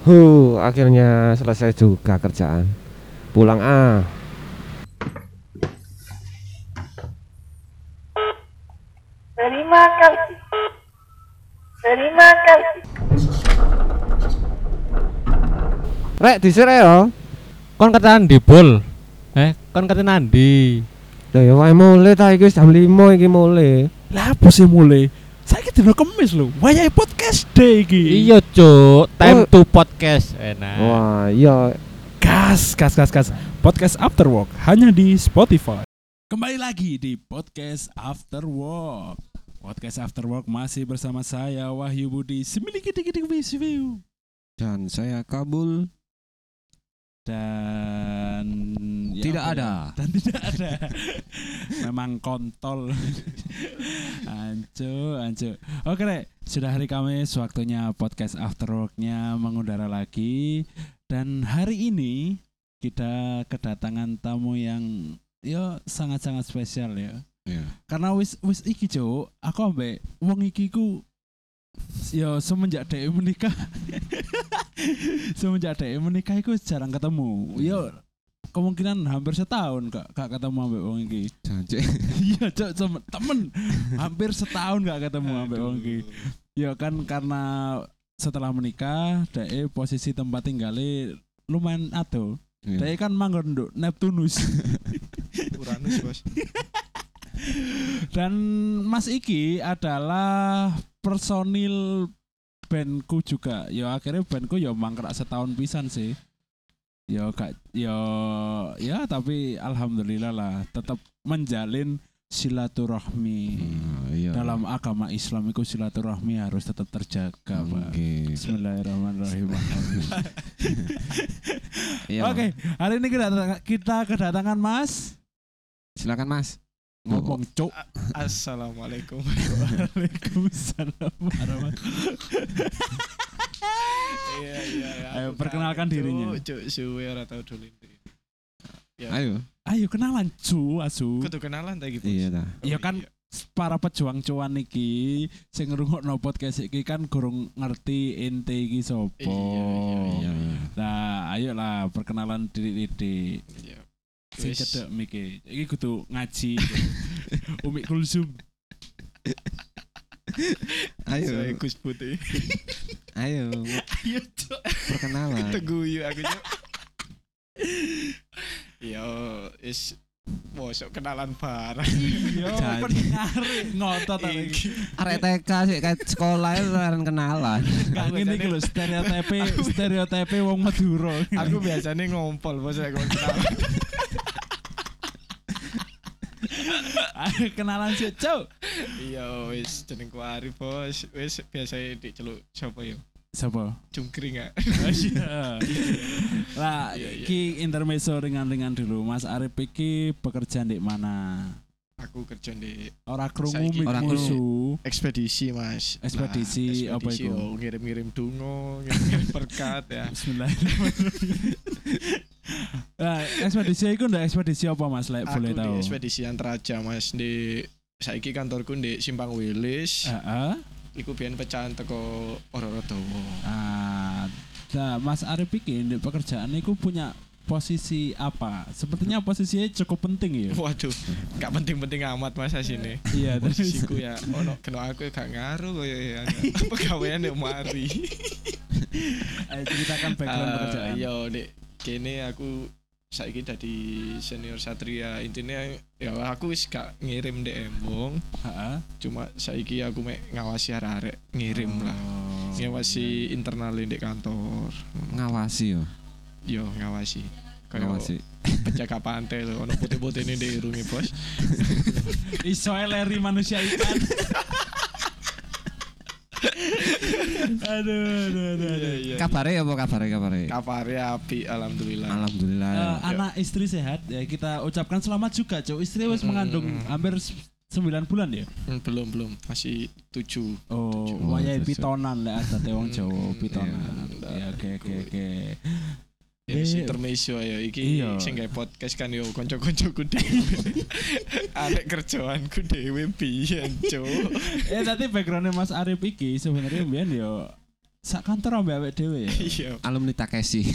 Akhirnya selesai juga kerjaan. Pulang ah. Terima kasih. Terima kasih. Rek disere yo. Kon katakan di bol. Kon katakan nandi. Lah ya wae mulai ta iki jam 5 iki mulai. Lah apa sih mulai? Saiki dino Kemis lho. Wayahe podcast day iki. Iya, Cuk. Time to podcast. Enak. Wah, iya. Gas. Podcast After Work hanya di Spotify. Kembali lagi di Podcast After Work. Podcast After Work masih bersama saya Wahyu Budi Semiliki dikit view. Dan saya Kabul. Dan Tidak apa ada. ya? Dan tidak ada. Memang kontol. Ancu. Oke, Rek. Sudah hari Kamis, waktunya podcast After Work-nya mengudara lagi. Dan hari ini kita kedatangan tamu yang sangat-sangat spesial ya. Iya. Karena wis iki, Cuk, aku ambek wong iki ku semenjak dhek menikah. Semenjak dhek menikah iku jarang ketemu. Kemungkinan hampir setahun gak ketemu ambek wong iki. Janji. Iya, Cuk, temen. Hampir setahun gak ketemu ambek wong iki. Ya kan karena setelah menikah dhek posisi tempat tinggalnya lumayan ado. Dhek kan manggon nduk Neptunus. Uranus, Bos. Dan Mas Iki adalah personil bandku juga. Ya akhirnya bandku mangkrak setahun pisan sih. Tapi alhamdulillah lah tetap menjalin silaturahmi. Iya. Dalam agama Islam itu silaturahmi harus tetap terjaga, Pak. Bismillahirrahmanirrahim. Iya. Oke, hari ini kita kedatangan Mas. Silakan Mas. Ngomong, Cuk. Assalamualaikum. Waalaikumsalam warahmatullahi. Iya. Ayo, perkenalkan dirinya. Cuk, suwe ora tau dolen. Ya. Ayo kenalan, Asu. Kudu kenalan ta iki, Bos. Iya ta. Ya kan para pejuang cuan iki sing ngrungokno podcast iki kan gurung ngerti ente iki sapa. Iya. Nah, ayolah perkenalan diri. Iya. Sing cedek miki. Iki kudu ngaji. Umi Kulsum. Saya Gus Putih. Ayo, Ayo, Cuk. perkenalan. Teguyu aku, Cuk. Mosok kenalan bareng. Yo, Jadi. pendengar ngotot iki. Arek TK sih kayak sekolah itu orang kenalan. Gak ngene iki lho stereotipe wong Madura. Aku biasanya ngompol, Bos, lek kenalan. Ayo kenalan sih, Cuk. Iya, wis jenengku Arif, Bos. Wis biasa diceluk sapa yo? Sapa? Cungkring ah. Iya. Lah, Iya. iki intermezzo ringan-ringan dulu. Mas Arif iki bekerja di mana? Aku kerja di Ora krungu Saiki musuh. ekspedisi, Mas. Ekspedisi apa ekspedisi, iku? Ngirim-ngirim donga, ngirim berkat ya. Bismillahirrahmanirrahim. Nah, ekspedisi iku ndak ekspedisi apa Mas? Lek boleh Aku tahu. di ekspedisi Antaraja, Mas. Saiki kantorku di Simpang Wilis. Heeh. Iku biyen pecahan teko Ororodowo. Nah, Mas Arif iki di pekerjaan iku punya posisi apa? Sepertinya posisinya cukup penting ya. Waduh, gak penting-penting amat Mas asine. Iya, Posisiku ya ono kena aku gak ngaruh koyo ya. Pegawaian nek mari. Ayo ceritakan background pekerjaan. Iya, Nek. Kene aku saiki dadi senior satria. Intinya ya aku wis gak ngirim ndek embung. Heeh. Cuma saiki aku mek ngawasi arek-arek ngirim lah. Ngawasi internal ndek kantor. Ngawasi yo. Yo ngawasi. Ngawasi. Penjaga pantai lho, ono putih-putih ndek irunge, Bos. Iso leri manusia ikan. Aduh. Iya. Kabare apa kabare? Kapare api alhamdulillah. Alhamdulillah. Anak istri sehat ya, kita ucapkan selamat juga, Cuk. Istri wis mengandung hampir 9 bulan ya. Belum masih 7. Oh, Tujuh. wayahe Oh, pitonan lek adate wong Jawa pitonan. Iya. Ya oke. Ya intermezzo ya iki Iya. sing gawe podcast kan yo kanca-kancaku dhewe. Arek kerjaanku dhewe biyen, Cuk. Tadi backgroundnya Mas Arif iki sebenarnya mbiyen yo sak kantor ambek awake dhewe ya. Iya. Alumni Takeshi.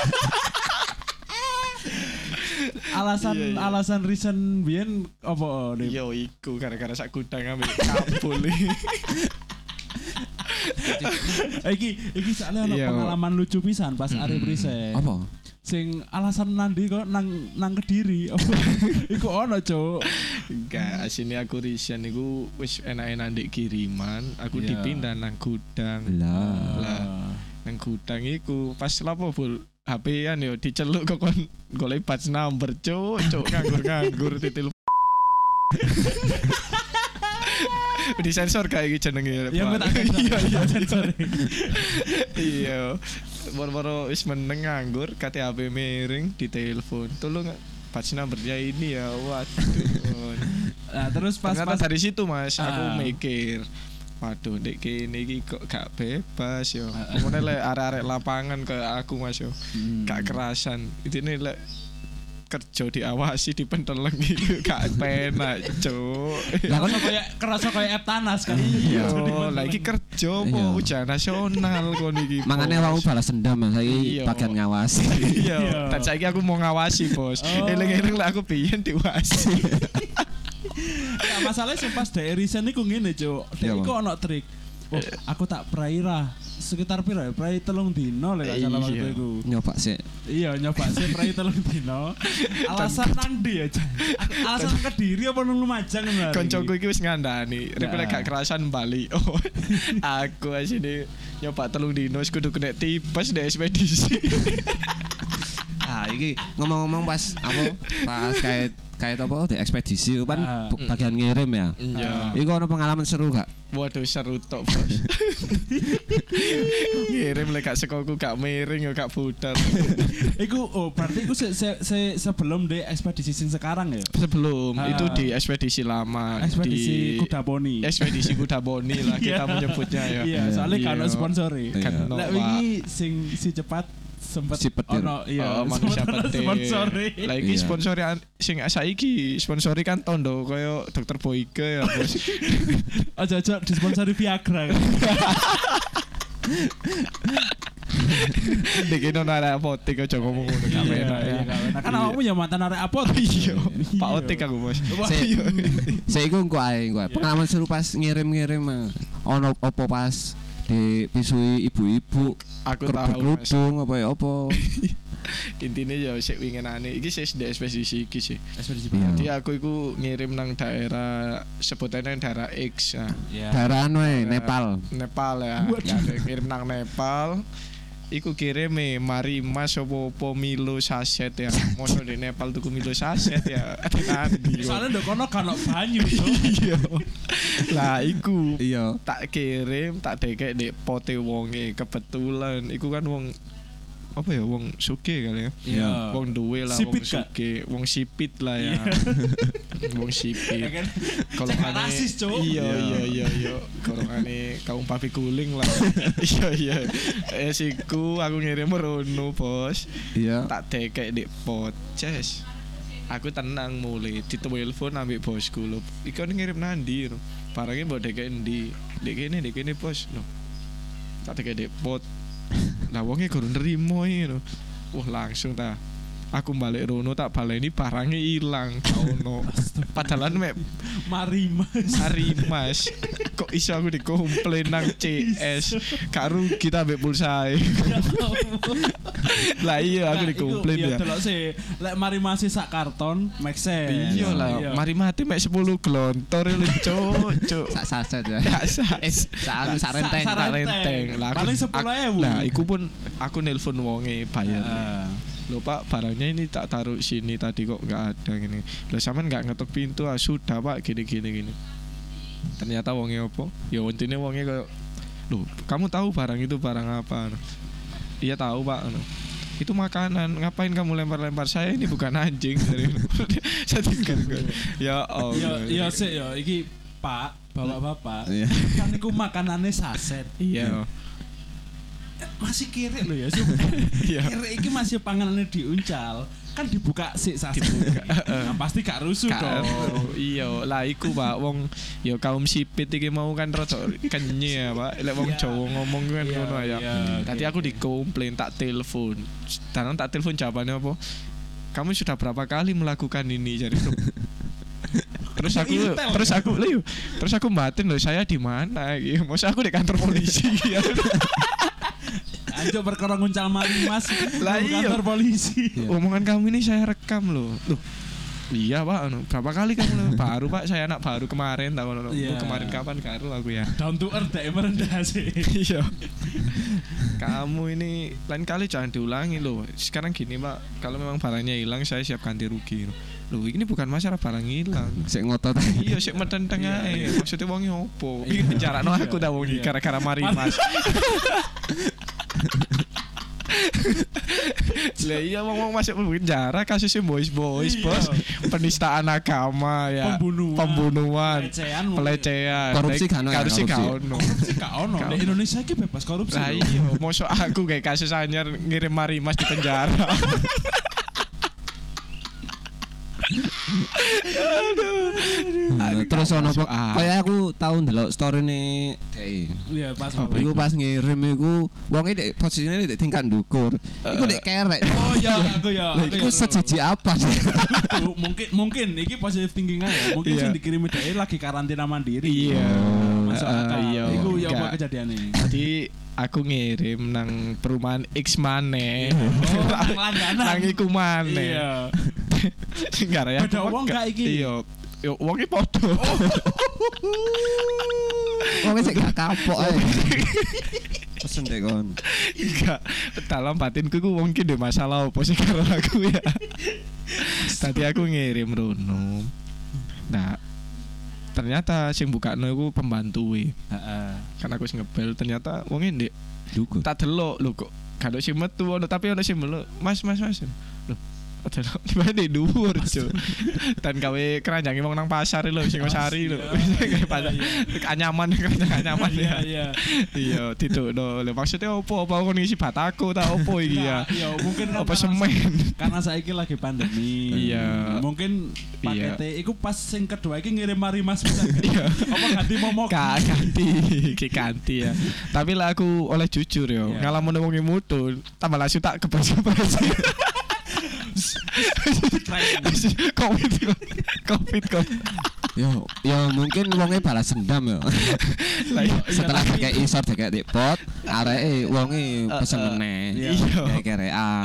Alasan reason biyen apa Dip? Yo iku gara-gara sak gudang ambek kabul. Iki soalnya ono Iya. pengalaman lucu pisan pas arep resign. Apa? Sing alasan nandi kok nang Kediri. Apa? Iku ono, Cuk. Enggak, asine aku resign iku wis enak-enak ndek kiriman, aku Iya. dipindah nang gudang. Lah. Nang gudang iku pas lapo Bul HP-an yo diceluk kok kon golek batch number cuk nganggur titil. Di sensor kayak gitu jenenge. Ya Pak. tak Iya sensor. iya. Boro-boro wis meneng nganggur kate HP miring ditelepon. Tolong batch numbernya ini ya. Waduh. Nah, terus pas Ternyata dari situ Mas aku Ah. mikir waduh dek kene iki kok gak bebas yo. Ngene lek arek-arek lapangan kayak aku Mas yo. Gak kerasan. Intine lek kerja diawasi dipenteleng gitu gak penak, Cuk. Lah kan kerasa kayak Eptanas kan. Iya, lagi kerja Iya. po ujian nasional kon iki. mangane Bos. awakmu balas dendam Mas. Saiki Iya. bagian ngawasi. Iya, dan saiki aku mau ngawasi, Bos. Oh. Eling-eling lah aku biyen diwasi. Nah, masalahnya sing pas daerah resign iku ngene, Cuk. Iya, Dek iku Bang. ono trik. Oh, aku tak praira sekitar pira ya? Prai 3 dino lek gak salah waktu Iya. iku. Nyoba sih. Iya, nyoba sih prai 3 dino. Alasan nang ndi ya, Cuk? Alasan nang Kediri apa nang Lumajang ngono. Koncoku iki wis ngandani, rek lek Nah. gak kerasan bali. Oh, aku asine nyoba 3 dino wis kudu kena tipes deh ekspedisi. Ah, iki ngomong-ngomong pas kayak apa di ekspedisi kan Ah. bagian ngirim ya. Iya. Iku ono pengalaman seru gak? Waduh seru tok, Bos. Ngirim lek gak sekoku gak miring ya gak budal. Iku berarti iku sebelum di ekspedisi sing sekarang ya. Sebelum Ah. itu di ekspedisi lama Ekspedisi di Kuda Poni. ekspedisi Kuda Boni lah kita Iya. menyebutnya ya. Iya, soalnya kan ono Iya. sponsori. Iya. Kan ono, Lek Pak. wingi sing si cepat sempet Si petir. ono iya Oh, manusia sempet ono petir. sponsori. Lagi Iya. sponsori sing saiki sponsori kan tondo koyo Dokter Boyke ya, Bos. Aja disponsori Viagra kan. Dek ono arek apotek aja ngomong ngono gak enak ya. Nah, kan awakmu ya mantan arek apot. Iya, Pak Otek aku, Bos. Wah, Se- iya. Saya iku engko ae engko ae. Pengalaman seru pas ngirim-ngirim ono apa pas dipisui ibu-ibu Aku tahu, Mas. kerudung apa ya apa. Intinya ya sik wingenane iki sih di ekspedisi iki sih. Ekspedisi Iya. Jadi aku iku ngirim nang daerah sebutannya daerah X ya. Daerah anu ae, Nepal. Nepal ya. Ya, ngirim nang Nepal. Iku kirim Marimas opo Milo saset ya. Mono di Nepal tuku Milo saset ya. Nanti. Soalnya ndok kono kan ono banyu, Cuk. Iya. Lah iku Iya. tak kirim tak dekek di pote wonge kebetulan iku kan wong apa ya wong suke kali ya. Iya. Wong duwe lah Sipit, wong Kak? suke, wong sipit lah ya. Wong Ya sipit. kan? Kalau Cek rasis, Cuk. iya. Korongane kaum papi guling lah. Iya. Siku aku ngirim merono, Bos. Iya. Tak dekek di pot. Ces. Aku tenang mulai ditelepon ambek bosku lho. Iku ngirim nandi lho. Barangnya mbok dekek endi? Dek kene Bos. Lho. Tak dekek di pot. Lah wonge guru nerimo iki lho. Wah langsung ta. Aku balik rono tak baleni barangnya hilang ono. Padahal mek Marimas. hari Mas kok iso aku dikomplain nang CS gak rugi ta mbek pulsae. Lah iya aku dikomplain ya. Iya, delok sih. Lek Marimas sak karton make sense. Iya lah, mari mati mek 10 glontor lho cuk. Sak saset ya. Gak sah. Sak renteng. Sak renteng. Lah Paling 10.000. Lah iku pun aku nelpon wonge bayar. Ah. Loh Pak, barangnya ini tak taruh sini tadi kok nggak ada gini. Loh sampean nggak ngetok pintu ah sudah Pak gini. Ternyata wonge opo? Ya intinya wonge kayak loh kamu tahu barang itu barang apa? Iya tahu Pak. Itu makanan, ngapain kamu lempar-lempar saya ini bukan anjing. Saya tinggal ya Allah. Iya sih ya iki Pak, bapak-bapak. Iya. Kan iku makanannya saset. Iya. Masih kiri lho ya. Iya. Kiri iki masih panganannya diuncal. kan dibuka sik sasi. Nah, pasti gak rusuh dong. Iya, lah iku Pak wong ya kaum sipit iki mau kan rada kenye ya Pak. Lek wong Jawa ngomong kan ngono ya. Tadi aku dikomplain tak telepon. Dan tak telepon jawabannya apa? Kamu sudah berapa kali melakukan ini jadi terus aku batin loh saya di mana gitu. Maksud aku di kantor polisi ya. Anjo perkara nguncal mari Mas Lah iya. kantor polisi. Omongan kamu ini saya rekam loh. Loh. Iya Pak, berapa kali kamu baru Pak, saya anak baru kemarin tahu kemarin kapan karo aku ya. Down to earth dek merendah sih. Iya. Kamu ini lain kali jangan diulangi loh. Sekarang gini Pak, kalau memang barangnya hilang saya siap ganti rugi. Loh, ini bukan masalah barang hilang. Sik ngotot. Iya, sik medenteng ae. Maksudnya wonge opo? Iki penjarakno aku ta wong iki gara-gara mari Mas. Lah iya wong masuk penjara kasusnya boys bos, penistaan agama ya, pembunuhan, pelecehan, korupsi kan korupsi ono. Di Indonesia iki bebas korupsi. Lah iya, mosok aku kayak kasus anyar ngirim mari Mas di penjara. Terus ono kayak aku tau ndelok story-ne Dek. Iya, pas Iku pas ngirim iku wonge dek posisine dek tingkat ndukur. Iku dek kerek. Oh iya, aku ya. Iku sejiji apa sih? Mungkin iki positive thinking aja. Mungkin sing dikirimi dhek lagi karantina mandiri. Iya. Masuk akal. Iya. Iku ya apa kejadiane? Tadi aku ngirim nang perumahan X maneh. Langganan. Nang iku maneh. Iya. Enggak ya. Beda wong gak iki? Iya. Yo wonge padha. Wonge sik gak kapok ae. Pesen dek kon. Enggak. Dalam batinku ku wong ki ndek masalah opo sih karo aku ya. Tadi aku ngirim rono. Nah, ternyata sing bukakno iku pembantuwe. Heeh. Kan aku wis ngebel ternyata wonge ndek Duku. tak delok lho kok gak sing metu ono tapi ono sing melok. Mas. Loh. Aduh, di dhuwur, Cuk. Dan gawe keranjangi wong nang pasar lho, sing sari lho. Kayak pasar. Anyaman anyaman ya. Iya, didukno. Lho maksudnya opo? Apa kon ngisi batako ta opo iki ya? Iya, mungkin Apa semen? Karena saiki lagi pandemi. Iya. Mungkin pakete iku pas sing kedua iki ngirim mari Mas. Iya. Apa ganti momok? Ganti ya. Tapi lah aku oleh jujur yo, ngalamun wong mutu, tambah langsung tak kebas-bas. Covid. Yo mungkin wonge balas dendam yo. Setelah kayak isor kayak dipot, areke wonge pesen meneh. Kayak kerean.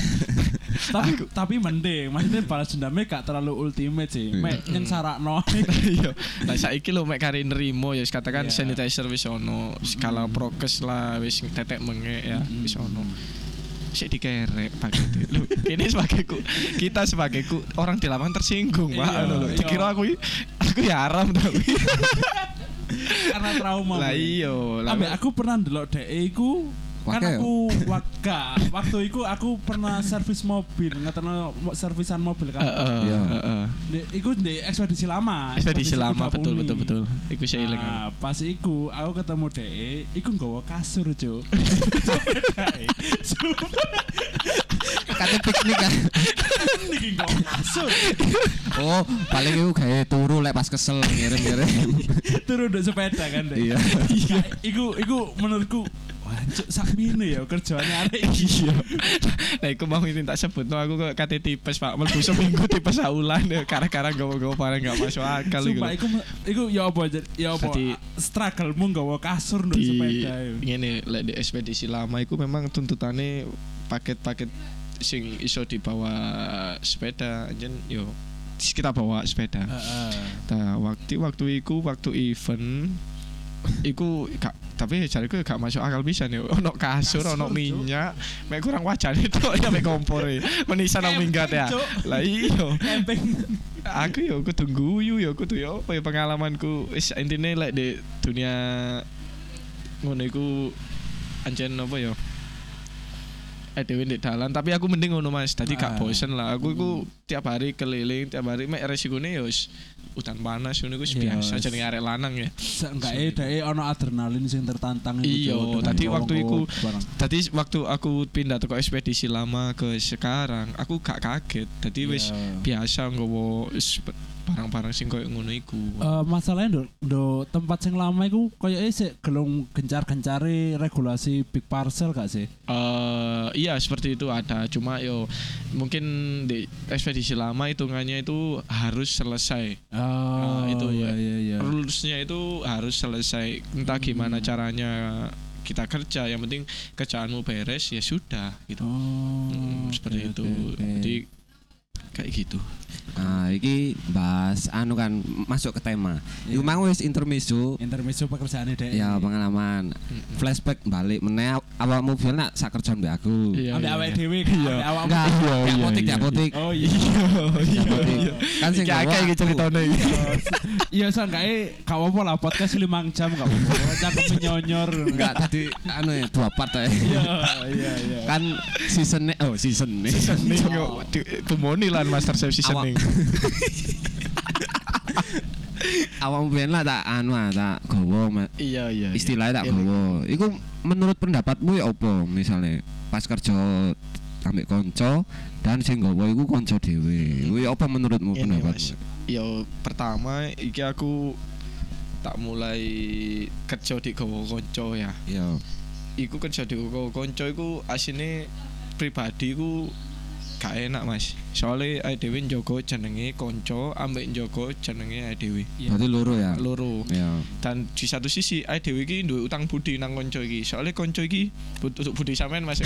Tapi mending, maksudnya balas dendamnya gak terlalu ultimate sih. Mek yang sarakno. Iya. Lah saiki lho mek kari nrimo ya katakan sanitizer wis ono, skala prokes lah wis tetek mengek ya wis ono. Sik dikerek pakai lu ini kita sebagai orang di lapangan tersinggung Pak lho dikira aku ya haram tapi karena trauma lah iya ambek aku pernah ndelok dhek iku kan aku waktu itu aku pernah servis mobil ngeterno servisan mobil kan iku di ekspedisi lama betul iku saya ilang pas iku aku ketemu dhek iku nggawa kasur Cuk kate piknik kan iki nggawa kasur oh paling iku gawe turu lek pas kesel ngirim turu ndek sepeda kan iya iku menurutku wancuk sakmene ya kerjaane arek iya. Nah iku mau ini tak sebut aku kok kate tipes Pak mlebu seminggu tipes saulan gara-gara gawa-gawa barang gak masuk akal iku. Sumpah iku ya apa struggle-mu gawa kasur nduk sepeda. Ngene lek di ekspedisi lama iku memang tuntutane paket-paket sing iso dibawa sepeda jen yo kita bawa sepeda. Nah, waktu event iku tapi jariku gak masuk akal bisa nih ono kasur ono minyak mek kurang wajan itu ya mek kompor menisan nang minggat ya lah iya aku yo kudu guyu yo kudu yo apa ya pengalamanku wis intine lek di dunia ngono iku anjen apa yo dhewe ndek dalan, tapi aku mending ngono Mas. Dadi gak Ah. bosen lah. Aku iku tiap hari keliling, tiap hari mek resikone ya wis udan panas ngono iku wis Iya, biasa wis. jenenge arek lanang ya. Seenggaknya dhek ono adrenalin sing tertantang Iya, Cuk, dengan tadi waktu cowok iku- bareng. Tadi waktu aku pindah teko ekspedisi lama ke sekarang, aku gak kaget. Dadi wis Iya. biasa nggawa barang-barang sing koyo ngono iku. Masalahnya do tempat sing lama iku koyoke sik gelung gencar-gencare regulasi big parcel gak sih? Iya seperti itu ada, cuma yo mungkin di ekspedisi lama hitungannya itu harus selesai. Itu iya iya. Rulesnya itu harus selesai. Entah gimana caranya kita kerja, yang penting kerjaanmu beres ya sudah gitu. Seperti oke, itu. oke. Jadi kayak gitu. Nah, iki bahas anu kan masuk ke tema. Iku mang wis intermezzo. Intermezzo pekerjaane dhek. Ya pengalaman. Flashback balik meneh awakmu biyen nak sak kerjaan mbek aku. Iya, Ambek iya, awake iya. dhewe Iya. ambek awakmu. Enggak, Iya, di iya, apotik, di iya. apotik. Oh iya. Di apotik. Kan sing Iki gawa akeh iki aku. ceritane iki. Iya sangkae gak apa-apa lah podcast 5 jam gak apa-apa. Cakep menyonyor. Enggak tadi anu ya 2 part ya. Iya. Kan season Seasoning yo tumoni lan master chef seasoning. Awakmu biyen lah tak anu tak gowo Iya iya. istilahnya tak gowo. Iku menurut pendapatmu ya apa misalnya pas kerja ambek konco dan sing gowo iku konco dhewe. Kuwi apa menurutmu Ini, pendapatmu? Mas. Yo pertama iki aku tak mulai kerja di gowo konco ya. Iya. Iku kerja di gowo konco iku asine pribadi ku gak enak Mas. Soale awake dhewe njogo jenenge konco ambek njogo jenenge awake dhewe. Berarti loro ya. Loro. Iya. Dan di satu sisi awake dhewe iki duwe utang budi nang konco iki. Soale konco iki butuh budi sampean Mas.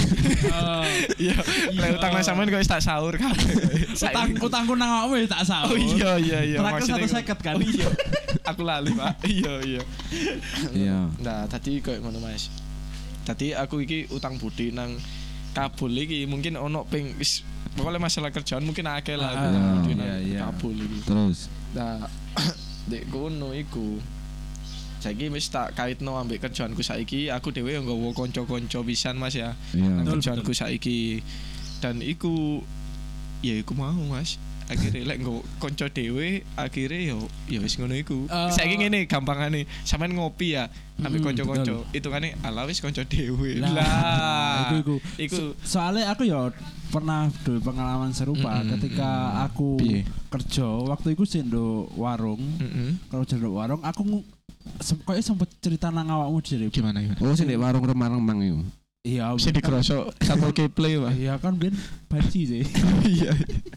Iya. Lek utang nang sampean kok wis tak sahur kabeh. Utangku nang awakmu ya tak sahur. Oh iya. Terakhir Maksudnya 150 kan. Oh iya. Aku lali, Pak. Iya. Iya. Nah, tadi koyo ngono, Mas. Tadi aku iki utang budi nang Kabul iki mungkin ono ping wis pokoknya masalah kerjaan mungkin akeh lah aku utang budi nang iya. Kabul iki. Terus Nah, dek kono iku saiki wis tak kaitno ambek kerjaanku saiki, aku dhewe yo nggawa kanca-kanca pisan Mas ya. iya. Nang kerjaanku saiki. Dan iku ya iku mau Mas. Akhirnya lek nggo kanca dhewe akhirnya ya wis ngono iku. Saiki ngene gampangane, sampean ngopi ya ambek kanca-kanca. Hitungane ala wis kanca dhewe. Lah. Iku Soalnya aku ya pernah duwe pengalaman serupa ketika aku Piye? kerja waktu itu sih nduk warung. Kalau nduk warung aku kayaknya sempet cerita nang awakmu dhewe. gimana? Oh sing di warung Remang-Remang iku. Iya, Bisa dikrosok Satpol Keple, Pak. iya kan ben banci sih. Iya.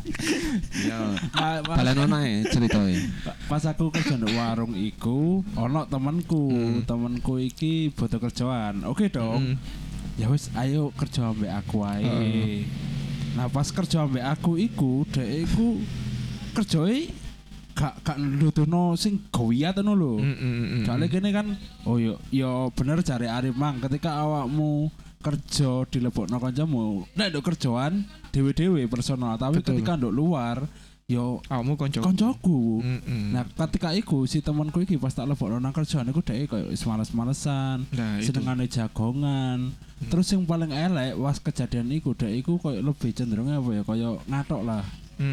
Iya. Nah, Balen ono ae ceritae. pas aku kerja nduk warung iku ono temanku iki butuh kerjaan. Oke dong. Ya wis ayo kerja ambek aku ae. Nah pas kerja ambek aku iku dhek iku kerjoe gak nuduhno sing gawiyat ngono lho. Soalnya gini kan oh yo bener jare Arif mang ketika awakmu kerja dilebokno kancamu nek nduk kerjaan dhewe-dhewe personal tapi Betul. ketika nduk luar yo Awakmu kanca. koncoku. Mm-mm. Nah, ketika iku si temanku iki pas tak lebokno nang kerjaan iku dhek koyo wis males-malesan, Nah, itu. senengane jagongan. Terus yang paling elek was kejadian iku dhek iku koyo lebih cenderung apa ya koyo ngatok lah.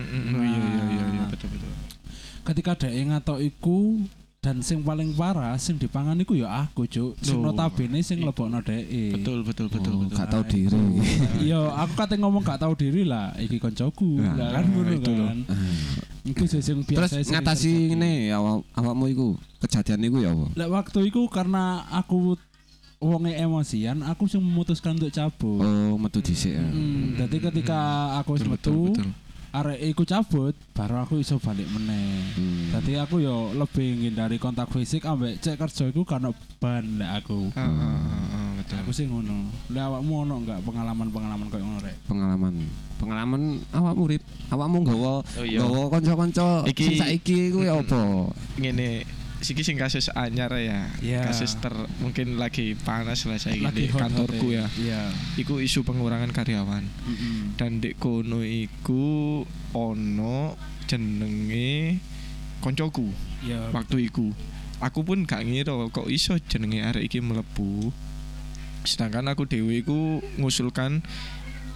Iya betul. Ketika dhek ngatok iku dan sing paling parah sing dipangan iku ya aku cuk. Sing Loh. notabene sing lebokno dhek. Betul. Oh, gak tau diri. Iya, aku kate ngomong gak tahu diri lah, iki koncoku. Nah, Lah kan ngono itu loh. kan. Iku sing Terus biasa sering ngatasi terjadi. ngene awakmu iku kejadian iku ya apa? Lek waktu itu karena aku wonge emosian, aku sing memutuskan untuk cabut. Oh, metu dhisik ya. Jadi ketika aku wis metu, arek iku cabut, baru aku iso balik meneh. Jadi aku yo lebih menghindari kontak fisik ambek cek kerja iku karena ban lek aku. Betul. Aku sih ngono. Lek awakmu ono enggak pengalaman koyo ngono rek? Pengalaman awakmu Rip. Awakmu nggawa Oh, iya. kanca-kanca Iki- sing saiki iku ya apa? Ngene siki sing kasus anyar ya. Iya. Kasus mungkin lagi panas lah saya Lagi di hot-hot kantorku ya. Iya. Iku isu pengurangan karyawan. Dan dek kono iku ono jenenge koncoku Iya. waktu iku. Aku pun gak ngira kok iso jenenge arek iki mlebu. Sedangkan aku dhewe iku ngusulkan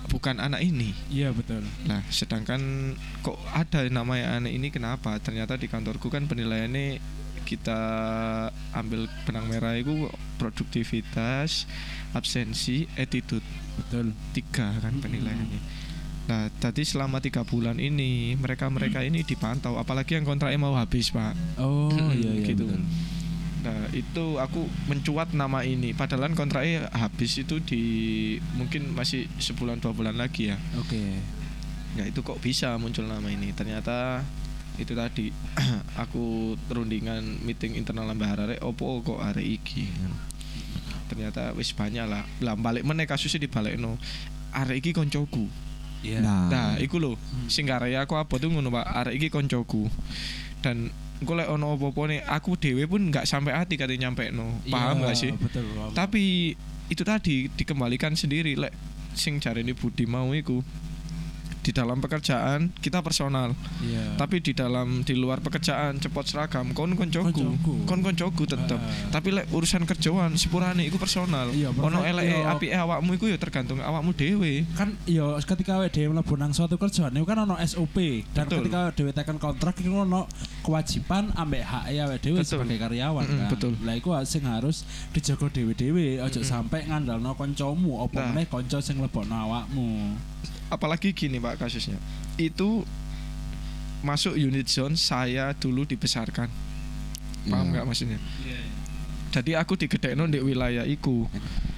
bukan anak ini. Iya betul. Nah, sedangkan kok ada namanya anak ini kenapa? Ternyata di kantorku kan penilaiannya kita ambil benang merah itu produktivitas, absensi, attitude. Betul. 3 kan penilaiannya. Nah, tadi selama 3 bulan ini mereka ini dipantau, apalagi yang kontraknya mau habis, Pak. Oh iya gitu. betul. Nah, itu aku mencuat nama ini. Padahal kontraknya habis itu di mungkin masih sebulan 2 bulan lagi ya. Oke. Ya itu kok bisa muncul nama ini. Ternyata itu tadi aku rundingan meeting internal Mbah Harare opo kok arek iki. Ternyata wis banyak lah. Lah balik meneh kasusnya dibalekno. Arek iki koncoku. Iya. Nah, iku lho sing garaya aku apa tuh ngono Pak. Arek iki koncoku. Dan engko lek ono apa-apa nih aku dhewe pun enggak sampai hati kate nyampekno. Paham enggak sih? Betul. Paham. Tapi itu tadi dikembalikan sendiri lek sing jarene Budi mau iku. Di dalam pekerjaan kita personal. Iya. Tapi di luar pekerjaan cepot seragam kon koncoku tetep. Tapi lek urusan kerjaan sepurane iku personal. Iya, Ono perfect, eleke iya. apike awakmu iku ya tergantung awakmu dhewe. Kan ya ketika awake dhewe mlebu nang suatu kerjaan itu kan ono SOP dan Betul. ketika dhewe tekan kontrak iku ono kewajiban ambek hak awake dhewe Betul. sebagai karyawan kan. Betul. Lah iku sing harus dijaga dhewe-dhewe aja sampai ngandalno kancamu apa Nah. meneh kanca sing lebokno awakmu. Apalagi gini Pak kasusnya. Itu masuk unit zone saya dulu dibesarkan. Paham nggak maksudnya? Jadi aku digedekno di wilayah iku.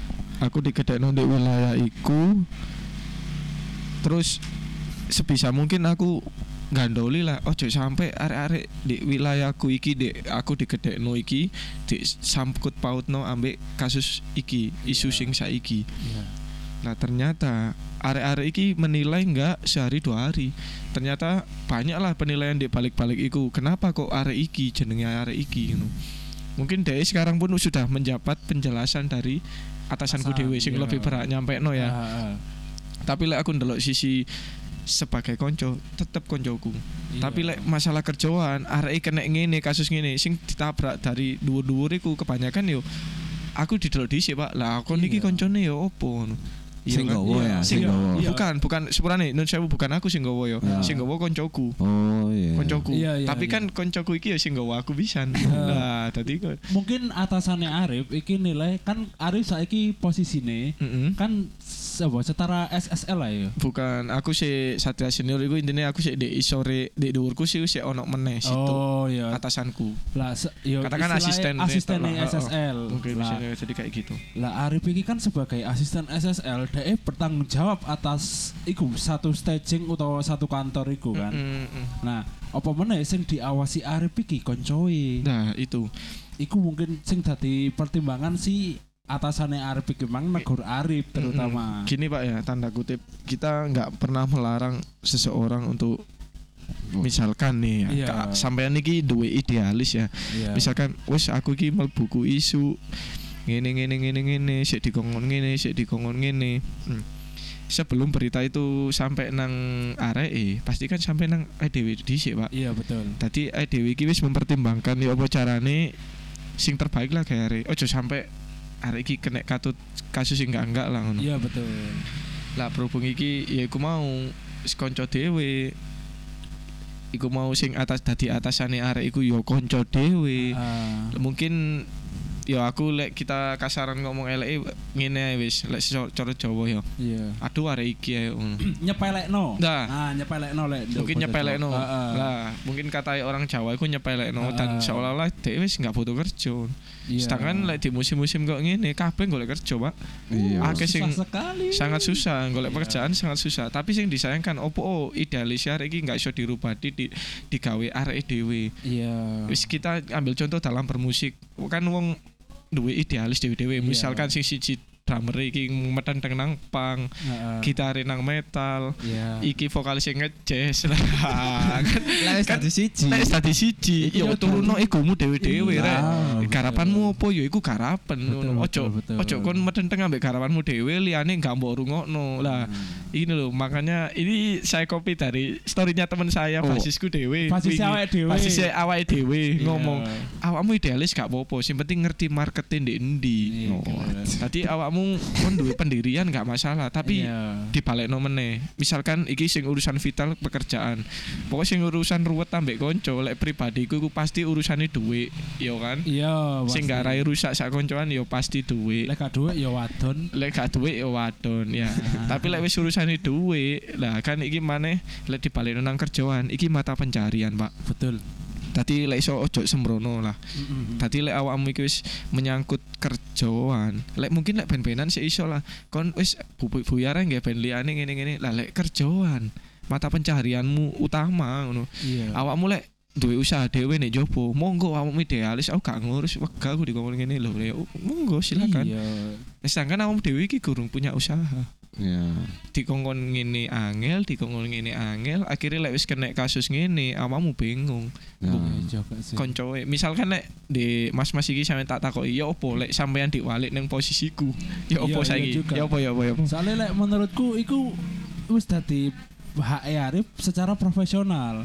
Terus sebisa mungkin aku gandoli lah ojo sampai arek-arek di wilayahku iki aku digedekno iki sangkut pautno ambek kasus iki isu sing saiki. Nah ternyata arek-arek iki menilai enggak sehari 2 hari. Ternyata banyaklah penilaian di balik-balik iku. Kenapa kok arek iki jenenge arek iki gitu. Mungkin DE sekarang pun sudah menjabat penjelasan dari atasanku dhewe sing lebih berhak nyampekno ya. Tapi lek aku ndelok sisi sebagai konco tetep koncoku. Tapi lek masalah kerjaan arek kena ngene kasus ngene sing ditabrak dari dhuwur-dhuwur iku kebanyakan yo aku didelok dhisik Pak. Lah kon iki koncone yo opo ngono. Sing gowo ya, Sing sing gowo. bukan sepurane nun sewu bukan aku sing gowo yo. Sing gowo koncoku. Oh iya. Koncoku. Iya, Tapi iya. kan koncoku iki ya sing gowo aku pisan. Nah, tadi Mungkin atasannya Arif iki nilai kan Arif saiki posisine kan setara SSL lah ya. bukan aku sih Satria Senior iku intinya aku sih di isore di dhuwurku sih ono meneh situ. Oh iya. Atasanku. Lah yo Katakan istilahnya asisten SSL. Mungkin Lah, bisa jadi kayak gitu. Lah Arif iki kan sebagai asisten SSL DE bertanggung jawab atas iku satu staging utawa satu kantor iku kan. Nah, apa meneh sing diawasi Arif iki koncoe. Nah, itu. Iku mungkin sing dadi pertimbangan si atasannya Arif iki mang negur Arif terutama. Gini Pak ya, tanda kutip kita nggak pernah melarang seseorang untuk misalkan nih ya, Iya. sampean iki duwe idealis ya. Iya. Misalkan wis aku iki mlebu ku isu ngene sik dikongkon ngene. Sebelum berita itu sampai nang areke, pasti kan sampai nang dhewe dhisik, Pak. Iya betul. Tadi dhewe iki wis mempertimbangkan ya apa carane sing terbaik lah kayak arek. Ojo sampai arek iki kena kasus sing enggak lah ngono. Iya betul. Lah berhubung iki ya iku mau kanca dhewe. Iku mau sing atas dadi atasane arek iku ya kanca dhewe. Mungkin ya aku lek kita kasaran ngomong eleke ngene ae wis lek cara Jawa ya. Iya. Aduh arek iki ae ngono. Nyepelekno. Nah. Nyepelekno lek. Mungkin nyepelekno. Lah, mungkin katai orang Jawa iku nyepelekno dan seolah-olah dhek wis enggak butuh kerja. Iya. Sedangkan lek di musim-musim kok ngene kabeh golek kerja, Pak. Iya. Akeh sing Susah sekali. sangat susah golek pekerjaan sangat susah. Tapi sing disayangkan opo idealis arek iki enggak iso dirubah digawe arek dhewe. Iya. Wis kita ambil contoh dalam bermusik. Kan wong duwe idealis dhewe-dhewe. Misalkan sing siji drummer iki metenteng nang punk, gitare nang metal, Iya. iki vokalis sing ngejazz lah. Lah wis dadi siji. Nek dadi siji, Iku ya ya turunno egomu dhewe-dhewe Iya, rek. betul. Garapanmu opo ya iku garapan ngono. betul. Ojo kon metenteng ambek garapanmu dhewe liyane gak mbok rungokno. Lah, ini loh makanya ini saya copy dari storynya teman saya basisku dhewe. Basisnya awake dhewe. Basisnya awake dhewe Iya. ngomong, awakmu idealis gak apa-apa, sing penting ngerti marketing ndek endi. Iya, Tadi awakmu awakmu kon duwe pendirian gak masalah, tapi Iya. dibalekno meneh. Misalkan iki sing urusan vital pekerjaan. Pokoknya sing urusan ruwet ambek konco, lek pribadiku iku pasti urusane duit, ya kan? Iya, Sing pasti. garai rusak sak koncoan ya pasti duit. Lek gak duit ya wadon. Lek gak duit ya wadon ya. Tapi lek wis urusane duit, lah kan iki maneh lek dibalekno nang kerjaan, iki mata pencarian, Pak. Betul. Dadi lek iso ojo sembrono lah. Dadi lek awakmu iki wis menyangkut kerjaan, lek mungkin lek ben-benan sih iso lah. Kon wis buyar nggih ben liyane ngene-ngene. Lah lek kerjaan, mata pencaharianmu utama ngono. Iya. Awakmu lek duwe usaha dhewe nek jopo, monggo awakmu idealis, aku gak ngurus, wegah aku dikongkon ngene lho. Ya, monggo silakan. Iya. Sedangkan awakmu dhewe iki gurung punya usaha. Ya. Dikongkon ngene angel, dikongkon ngene angel, akhirnya lek wis kena kasus ngene, awakmu bingung. Ya. Iya juga sih. Koncoe misalkan lek di mas-mas iki sampe tak takoki ya opo lek sampean diwalik ning posisiku ya Iya, opo iya saiki juga. ya opo Soalnya lek menurutku iku wis dadi hak Arif secara profesional.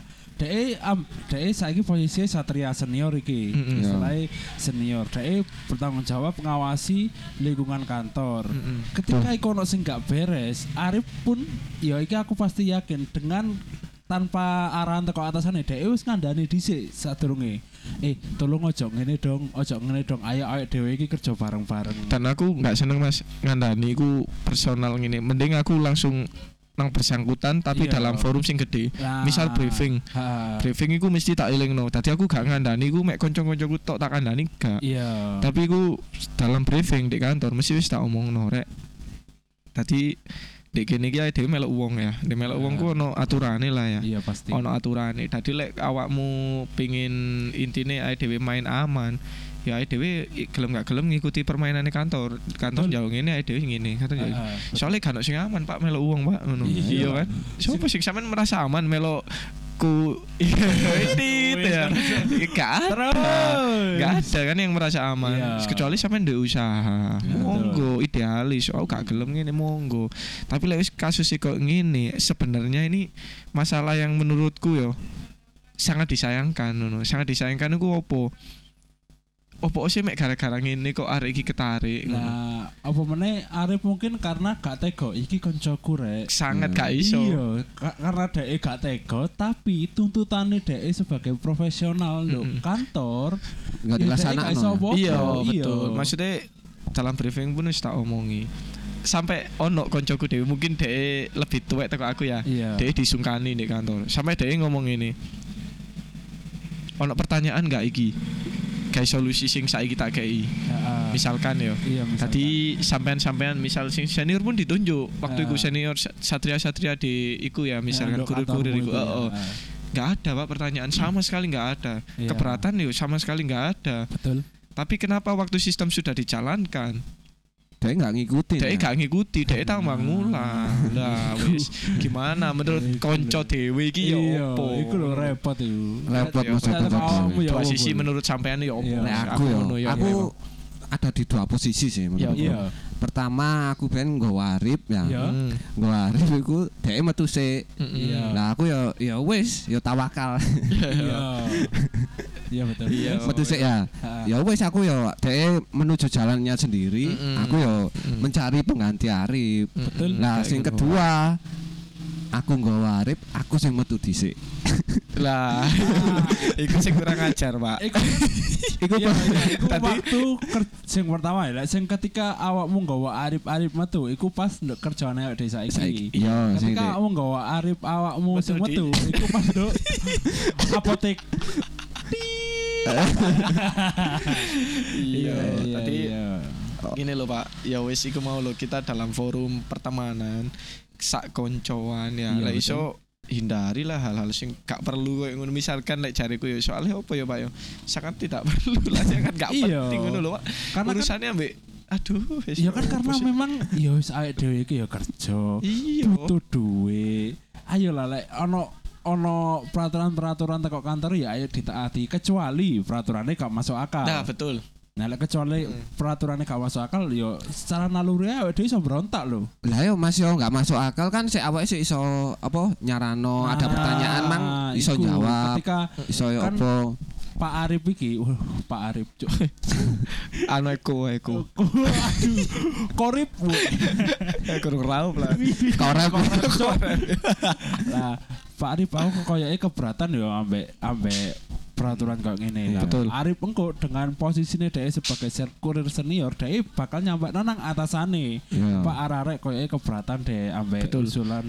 Dek saiki posisi satria senior iki. Mm-mm. Istilahnya senior. Dek bertanggung jawab ngawasi lingkungan kantor. Ketika iku ono sing gak beres, Arif pun ya iki aku pasti yakin dengan tanpa arahan teko atasane dhek wis ngandani dhisik sadurunge. Tolong ojo ngene dong, Ayo dhewe iki kerja bareng-bareng. dan aku nggak seneng mas ngandani iku personal ngene mending aku langsung nang bersangkutan tapi Iya. dalam forum sing gede Nah, misal briefing iku mesti tak elingno dadi aku gak ngandani iku mek kanca-kancaku tok tak kandani gak Iya. tapi iku dalam briefing di kantor mesti wis tak omongno rek dadi dek kene iki ae dhewe melok wong ya nek melok wong ku ono aturane lah ya. Iya pasti. Ono aturane. Dadi lek awakmu pengin intine ae dhewe main aman, ya ae dhewe gelem gak gelem ngikuti permainane kantor. Kantor jauh ngene ae dhewe ngene. Kantor jauh. Soalnya gak ono sing aman, Pak, melok uang, Pak, ngono. Iya. Iya kan? Sopo sing sampean merasa aman melok ku ini ya. Gak ada kan yang merasa aman. Iya. Kecuali sampean ndek usaha. Iya, Monggo idealis. Oh, gak gelem ngene monggo. Tapi lek wis kasus kok ngene, sebenarnya ini masalah yang menurutku yo sangat disayangkan ngono. Sangat disayangkan iku opo? Opo sih mek gara-gara ngene kok arek iki ketarik ngono. Nah, apa meneh Arif mungkin karena gak tega iki koncoku rek. Sangat gak iso. Iya, karena dhek gak tega tapi tuntutane dhek sebagai profesional lho kantor Enggak ya dhek dilaksanakan. gak iso apa-apa. Iya, betul. Maksudnya dalam briefing pun wis tak omongi. Sampai ono koncoku dhewe mungkin dhek lebih tuwek teko aku ya. Iya. Dhek disungkani di kantor. Sampai dhek ngomong ini. Ono pertanyaan gak iki? Kayak solusi sing saiki tak kei. Heeh. Misalkan yo. Iya, misalkan. Tadi sampean-sampean misal sing senior pun ditunjuk. Waktu iku senior satria-satria di iku ya misalkan Untuk kurir-kurir kantormu iku. itu ya. Oh, nggak ada Pak pertanyaan sama sekali nggak ada. Iya. Keberatan yo sama sekali nggak ada. Betul. Tapi kenapa waktu sistem sudah dijalankan, Dia enggak ngikutin. dia gak ngikuti, dia tambah ngulang. Lah wis gimana menurut konco dhewe iki yo Iya, opo? iku lho repot iku. Repot Iya, maksudnya. Tetep awakmu ya Dua opo, sisi Bu? menurut sampean yo opo? Iya. Nah, aku ngono ya, aku ada di dua posisi sih menurutku. Iya. Pertama aku ben nggo warip ya. Iya. Nggo warip iku dhek metu sik. Iya. Lah aku ya wis, ya tawakal. Iya. Iya betul. Iya. Metu sik ya. Ya wis aku ya dhek menuju jalannya sendiri, aku ya mencari pengganti Arif. Betul. Lah sing kedua aku nggo warip, aku sing metu dhisik. Lah, iku sing kurang ajar, Pak. Iku iku Tadi- waktu sing pertama ya, sing ketika awakmu nggawa Arif metu, iku pas nduk kerjane awake dhewe Saiki. saiki. Iya, sing Ketika awakmu nggawa Arif awakmu Metu sing di- metu, iku pas nduk apotek. Iya, tadi iya. gini loh Pak, ya wis iku mau lo kita dalam forum pertemanan sak koncoan ya. Iya, Lah iso hindarilah hal-hal sing gak perlu koyo ngono. Misalkan lek jariku ya soalnya apa ya Pak ya? Sangat tidak perlu lah, sangat gak Iya. penting ngono lho Pak. Karena kan- Urusannya ambek aduh wis Ya kan karena opo sih? memang ya wis awake dhewe iki ya kerja. Iya. Butuh duit. Ayolah lek ono peraturan-peraturan teko kantor ya ayo ditaati kecuali peraturannya gak masuk akal. Nah, betul. Nah, lek kecuali peraturannya gak masuk akal yo secara naluri awake dhewe iso berontak lho. Lah yo Mas yo enggak masuk akal kan sik awake sik iso apa nyarano ada pertanyaan mang iso iku, jawab. Ketika Iso yo kan- apa? Pak Arif iki, Pak Arif cuk. Anu eko. Aduh, korip. Bu. Kurang raup lah. Korep. Lah, Pak Arif aku koyoke keberatan ya ambek peraturan kayak gini. Lah, Betul. Arif engko dengan posisinya dia sebagai kurir senior, dia bakal nyampe nang atasane. Iya. Pak Ararek koyoke keberatan deh ambek Betul. usulan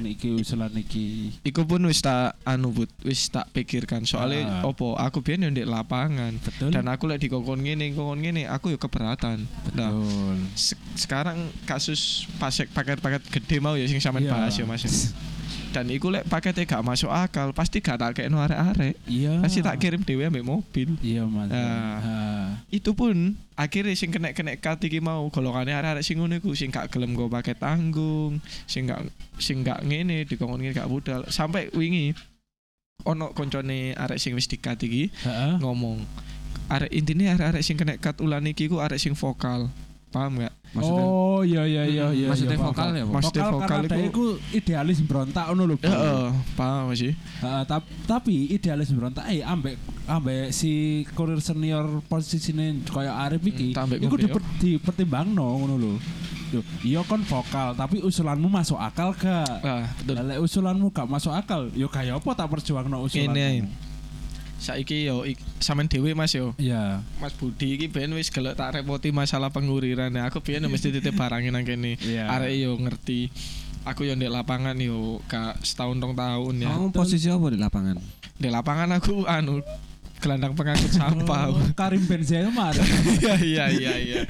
iki. Iku pun wis tak wis tak pikirkan soalnya opo aku biyen yo ndek lapangan. Betul. Dan aku lek dikongkon ngene aku yo keberatan. Nah, Betul. sekarang kasus paket gede mau ya sing sampean Iya. bahas ya Mas. Dan iku lek paketnya gak masuk akal, pasti gak tak kekno arek-arek. Iya. Pasti tak kirim dhewe ambek mobil. Iya, Mas. Nah. Itu pun akhirnya sing kena kat iki mau golongane arek-arek sing ngono iku sing gak gelem go paket tanggung, sing gak ngene dikongkon ngene gak budal. Sampai wingi ono koncone arek sing wis dikat iki Heeh. ngomong intine arek-arek sing kena kat ulan iki ku arek sing vokal. Paham gak? Maksudnya Oh iya. maksudnya paham, vokal paham. ya, Bang? Maksudnya vokal karena dia iku iku idealis berontak ngono lho. Bang. heeh, paham sih. Tapi idealis berontak ambek si kurir senior posisine kaya Arif iki Tak ambek iku ngono, dipertimbangno ngono lho. Yo, iya kon vokal tapi usulanmu masuk akal gak? Ah, betul. Lah lek usulanmu gak masuk akal, yo kaya apa tak perjuangno usulanmu. Ngene ae. Saiki yo sampean dhewe Mas yo. Iya. Mas Budi iki ben wis gelek tak repoti masalah penguriran. Aku biyen mesti titip barangin nang kene. Iya. Arek yo ngerti. Aku yo ndek lapangan yo gak setahun 2 tahun ya. Kamu posisi apa di lapangan? Di lapangan aku gelandang pengangkut sampah. Karim Benzema. Iya.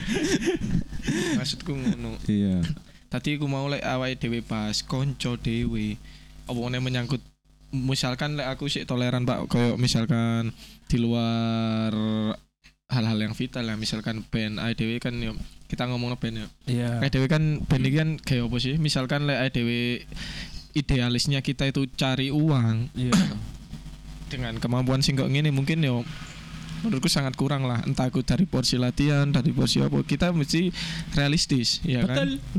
Maksudku ngono. Iya. Tadi aku mau lek awake dhewe pas konco dhewe. Apa meneh menyangkut misalkan lek aku sih toleran Pak koyo misalkan di luar hal-hal yang vital ya misalkan band IDW kan yo kita ngomong band yo Iya. IDW kan band ini kan kayak apa sih misalkan lek IDW idealisnya kita itu cari uang Iya. dengan kemampuan sing kok ngene mungkin yo menurutku sangat kurang lah entah aku dari porsi latihan dari porsi apa kita mesti realistis ya Betul. kan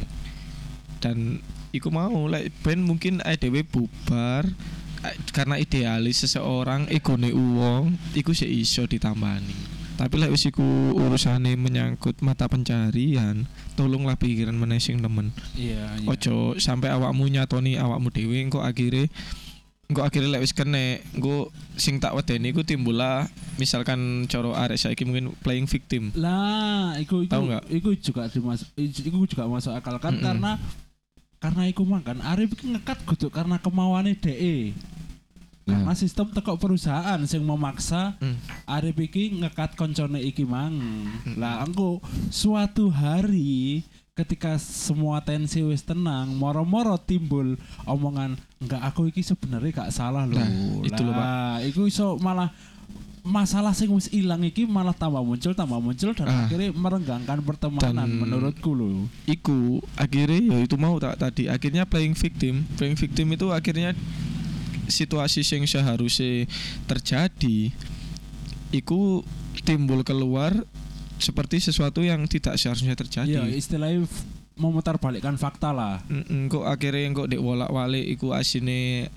dan iku mau like band mungkin IDW bubar karena idealis seseorang egone uang iku sih iso ditambani tapi lek wis iku urusane menyangkut mata pencarian tolonglah pikiran meneh sing temen Iya. ojo sampai awakmu nyatoni awakmu dhewe engko akhire lek wis kene engko sing tak wedeni iku timbul lah misalkan coro arek saiki mungkin playing victim Lah, iku Tahu nggak? iku juga masuk akal kan karena iku kan Arif iki ngekat kudu karena kemauane DE. Karena sistem teko perusahaan sing memaksa Arif iki ngekat koncone iki mang. Lah engko suatu hari ketika semua tensi wis tenang, moro-moro timbul omongan enggak aku iki sebenarnya gak salah loh. Nah, itu loh, Pak. Lah, iku iso malah masalah sing wis ilang iki malah tambah muncul dan akhirnya merenggangkan pertemanan Dan- menurutku loh. iku akhirnya ya itu mau tadi akhirnya playing victim itu akhirnya situasi yang seharusnya terjadi iku timbul keluar seperti sesuatu yang tidak seharusnya Iya, terjadi istilahnya memutarbalikkan fakta lah. kok akhirnya kok dek wolak-walik iku asine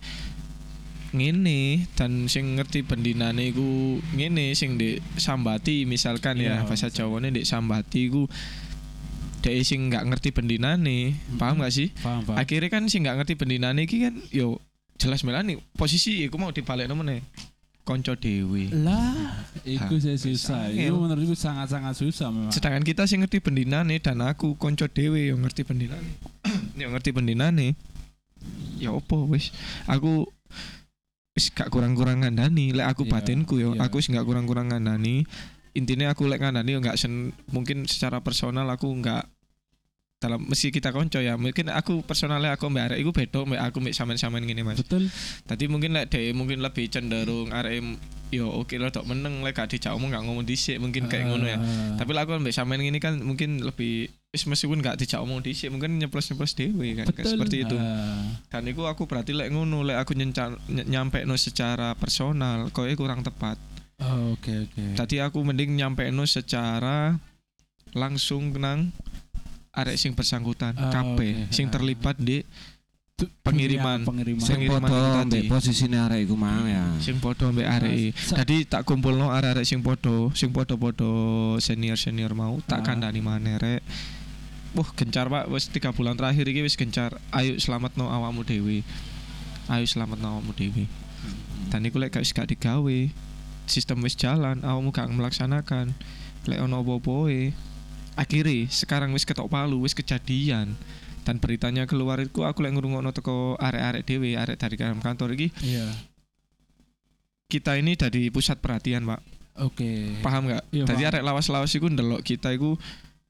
ngene dan sing ngerti bendinane iku ngene sing dek sambati misalkan ya Iya, bahasa Jawane dek sambati iku dek sing nggak ngerti bendinane paham gak sih Paham. akhirnya kan sing nggak ngerti bendinane iki kan yo jelas melani posisi iku mau dibalekno meneh konco dewe Lah, itu saya susah. angel. Itu menurutku sangat-sangat susah memang. sedangkan kita sing ngerti bendinane dan aku konco dewe yang ngerti bendinane yang ngerti bendinane ya opo wis aku wis gak kurang-kurang ngandani lek aku Iya, batinku yo iya. aku wis gak kurang-kurang ngandani intinya aku lek ngandani yo gak mungkin secara personal aku gak dalam mesti kita konco ya mungkin aku personalnya aku mbak arek iku beda mbak aku mbak sampean-sampean ngene Mas Betul. tadi mungkin lek dhek mungkin lebih cenderung arek yo oke lah dok meneng lek gak dijak omong gak ngomong dhisik mungkin kayak ngono ya tapi lah aku mbak sampean ngene kan mungkin lebih wis meskipun gak dijak omong dhisik mungkin nyeplos-nyeplos dhewe kan Betul. seperti itu Ah. dan itu aku berarti lek ngono lek aku nyampe no secara personal kowe kurang tepat Oh, oke. tadi aku mending nyampe no secara langsung nang arek sing bersangkutan Oh, kabeh oke. sing terlibat di pengiriman. Sing Pengiriman padha itu ambek tadi. posisine arek iku mang ya. Sing padha ambek arek. Dadi tak kumpulno arek-arek sing padha senior mau tak kandhani maneh rek. Wah, gencar Pak, wis 3 bulan terakhir iki wis gencar. Ayo selametno awakmu dhewe. Dan iku lek gak digawe, sistem wis jalan, awakmu gak melaksanakan. Lek ono apa-apa akhirnya sekarang wis ketok palu, wis kejadian. Dan beritanya keluar itu aku lek ngrungokno teko arek-arek dhewe, arek dari kantor iki. Iya. Kita ini dari pusat perhatian, Pak. Oke. Paham gak? Iya, Tadi paham. arek lawas-lawas iku ndelok kita iku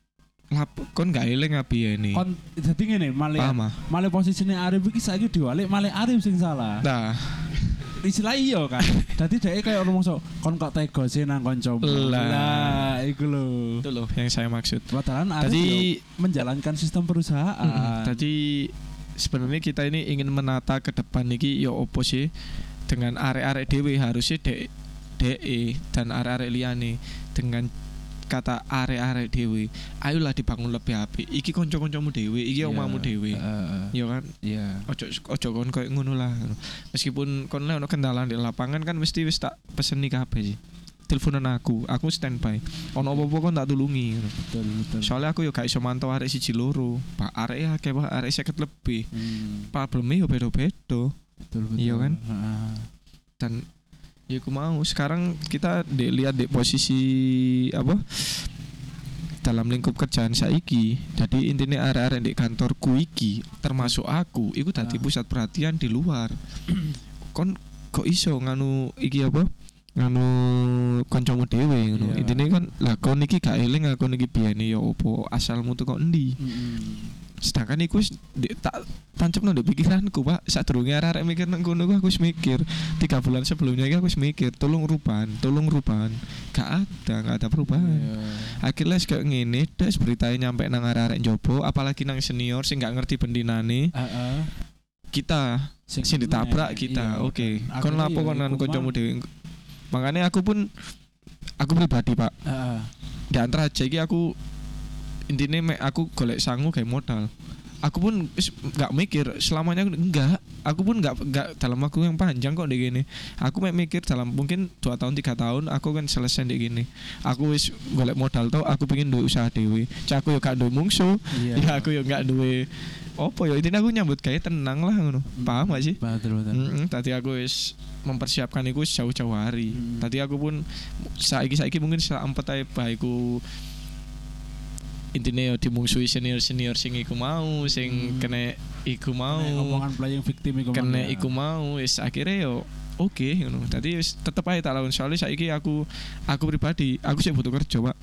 kon gak eling abi ini. Kon dadi ngene, Paham ah? malah posisine Arif iki saiki diwalik malah Arif sing salah. Nah, Istilah iya kan. Dadi dhek kaya ngomong sok kon kok tega sih nang kancamu. Lah, iku lho. itu loh yang saya maksud. Padahal Arif Tadi menjalankan sistem perusahaan. Tadi sebenarnya kita ini ingin menata ke depan iki ya opo sih dengan arek-arek dhewe harusnya DE dan arek-arek liyane dengan kata arek-arek dhewe ayolah dibangun lebih apik iki kanca-kancamu dhewe iki omahmu dhewe ya kan Iya. ojo kon koyo ngono lah meskipun kon lek ono kendala di lapangan kan mesti wis tak peseni kabeh sih teleponan aku standby ono apa-apa kon tak tulungi ngono. Betul. Soalnya aku yo gak iso mantau arek 1 loro pak arek akeh pak arek 50 lebih probleme yo beda-beda Betul. Iya kan? Heeh. dan ya aku mau sekarang kita lihat di posisi apa dalam lingkup kerjaan saiki jadi intinya arek-arek di kantorku iki termasuk aku iku dadi pusat perhatian di luar kon kok iso nganu iki apa nganu kancamu dhewe ngono Iya. intine kan lah kon iki gak eling aku iki biyene ya opo asalmu tuh kok endi sedangkan iku wis tak tancapno ndek pikiranku Pak sadurunge arek mikir nang kono aku wis mikir 3 bulan sebelumnya iki aku wis mikir tolong rupan gak ada perubahan akhirnya kayak ngene des beritanya nyampe nang arek njobo apalagi nang senior sing gak ngerti bendinane kita sing ditabrak kita oke kon lapo kon nang kancamu dhewe makanya aku pribadi Pak di antara aja iki aku intinya aku golek sangu kayak modal aku pun nggak mikir selamanya enggak aku pun nggak dalam waktu yang panjang kok dek gini aku mikir dalam mungkin 2 tahun 3 tahun aku kan selesai dek gini aku wis golek modal tau aku pengen duwe usaha dewe cak aku yo gak duwe mungsu ya aku yo gak duwe opo yo intinya aku nyambut kayak tenang lah ngono paham gak sih Betul. tadi aku wis mempersiapkan iku jauh-jauh hari tadi aku pun saiki mungkin setelah 4 ae baikku intine yo dimungsuhi senior sing iku mau sing kena iku mau Ngomongan playing victim iku kena iku mau wis akhirnya yo oke ngono dadi wis tetep ae tak lawan soalnya saiki aku pribadi aku sih butuh kerja Pak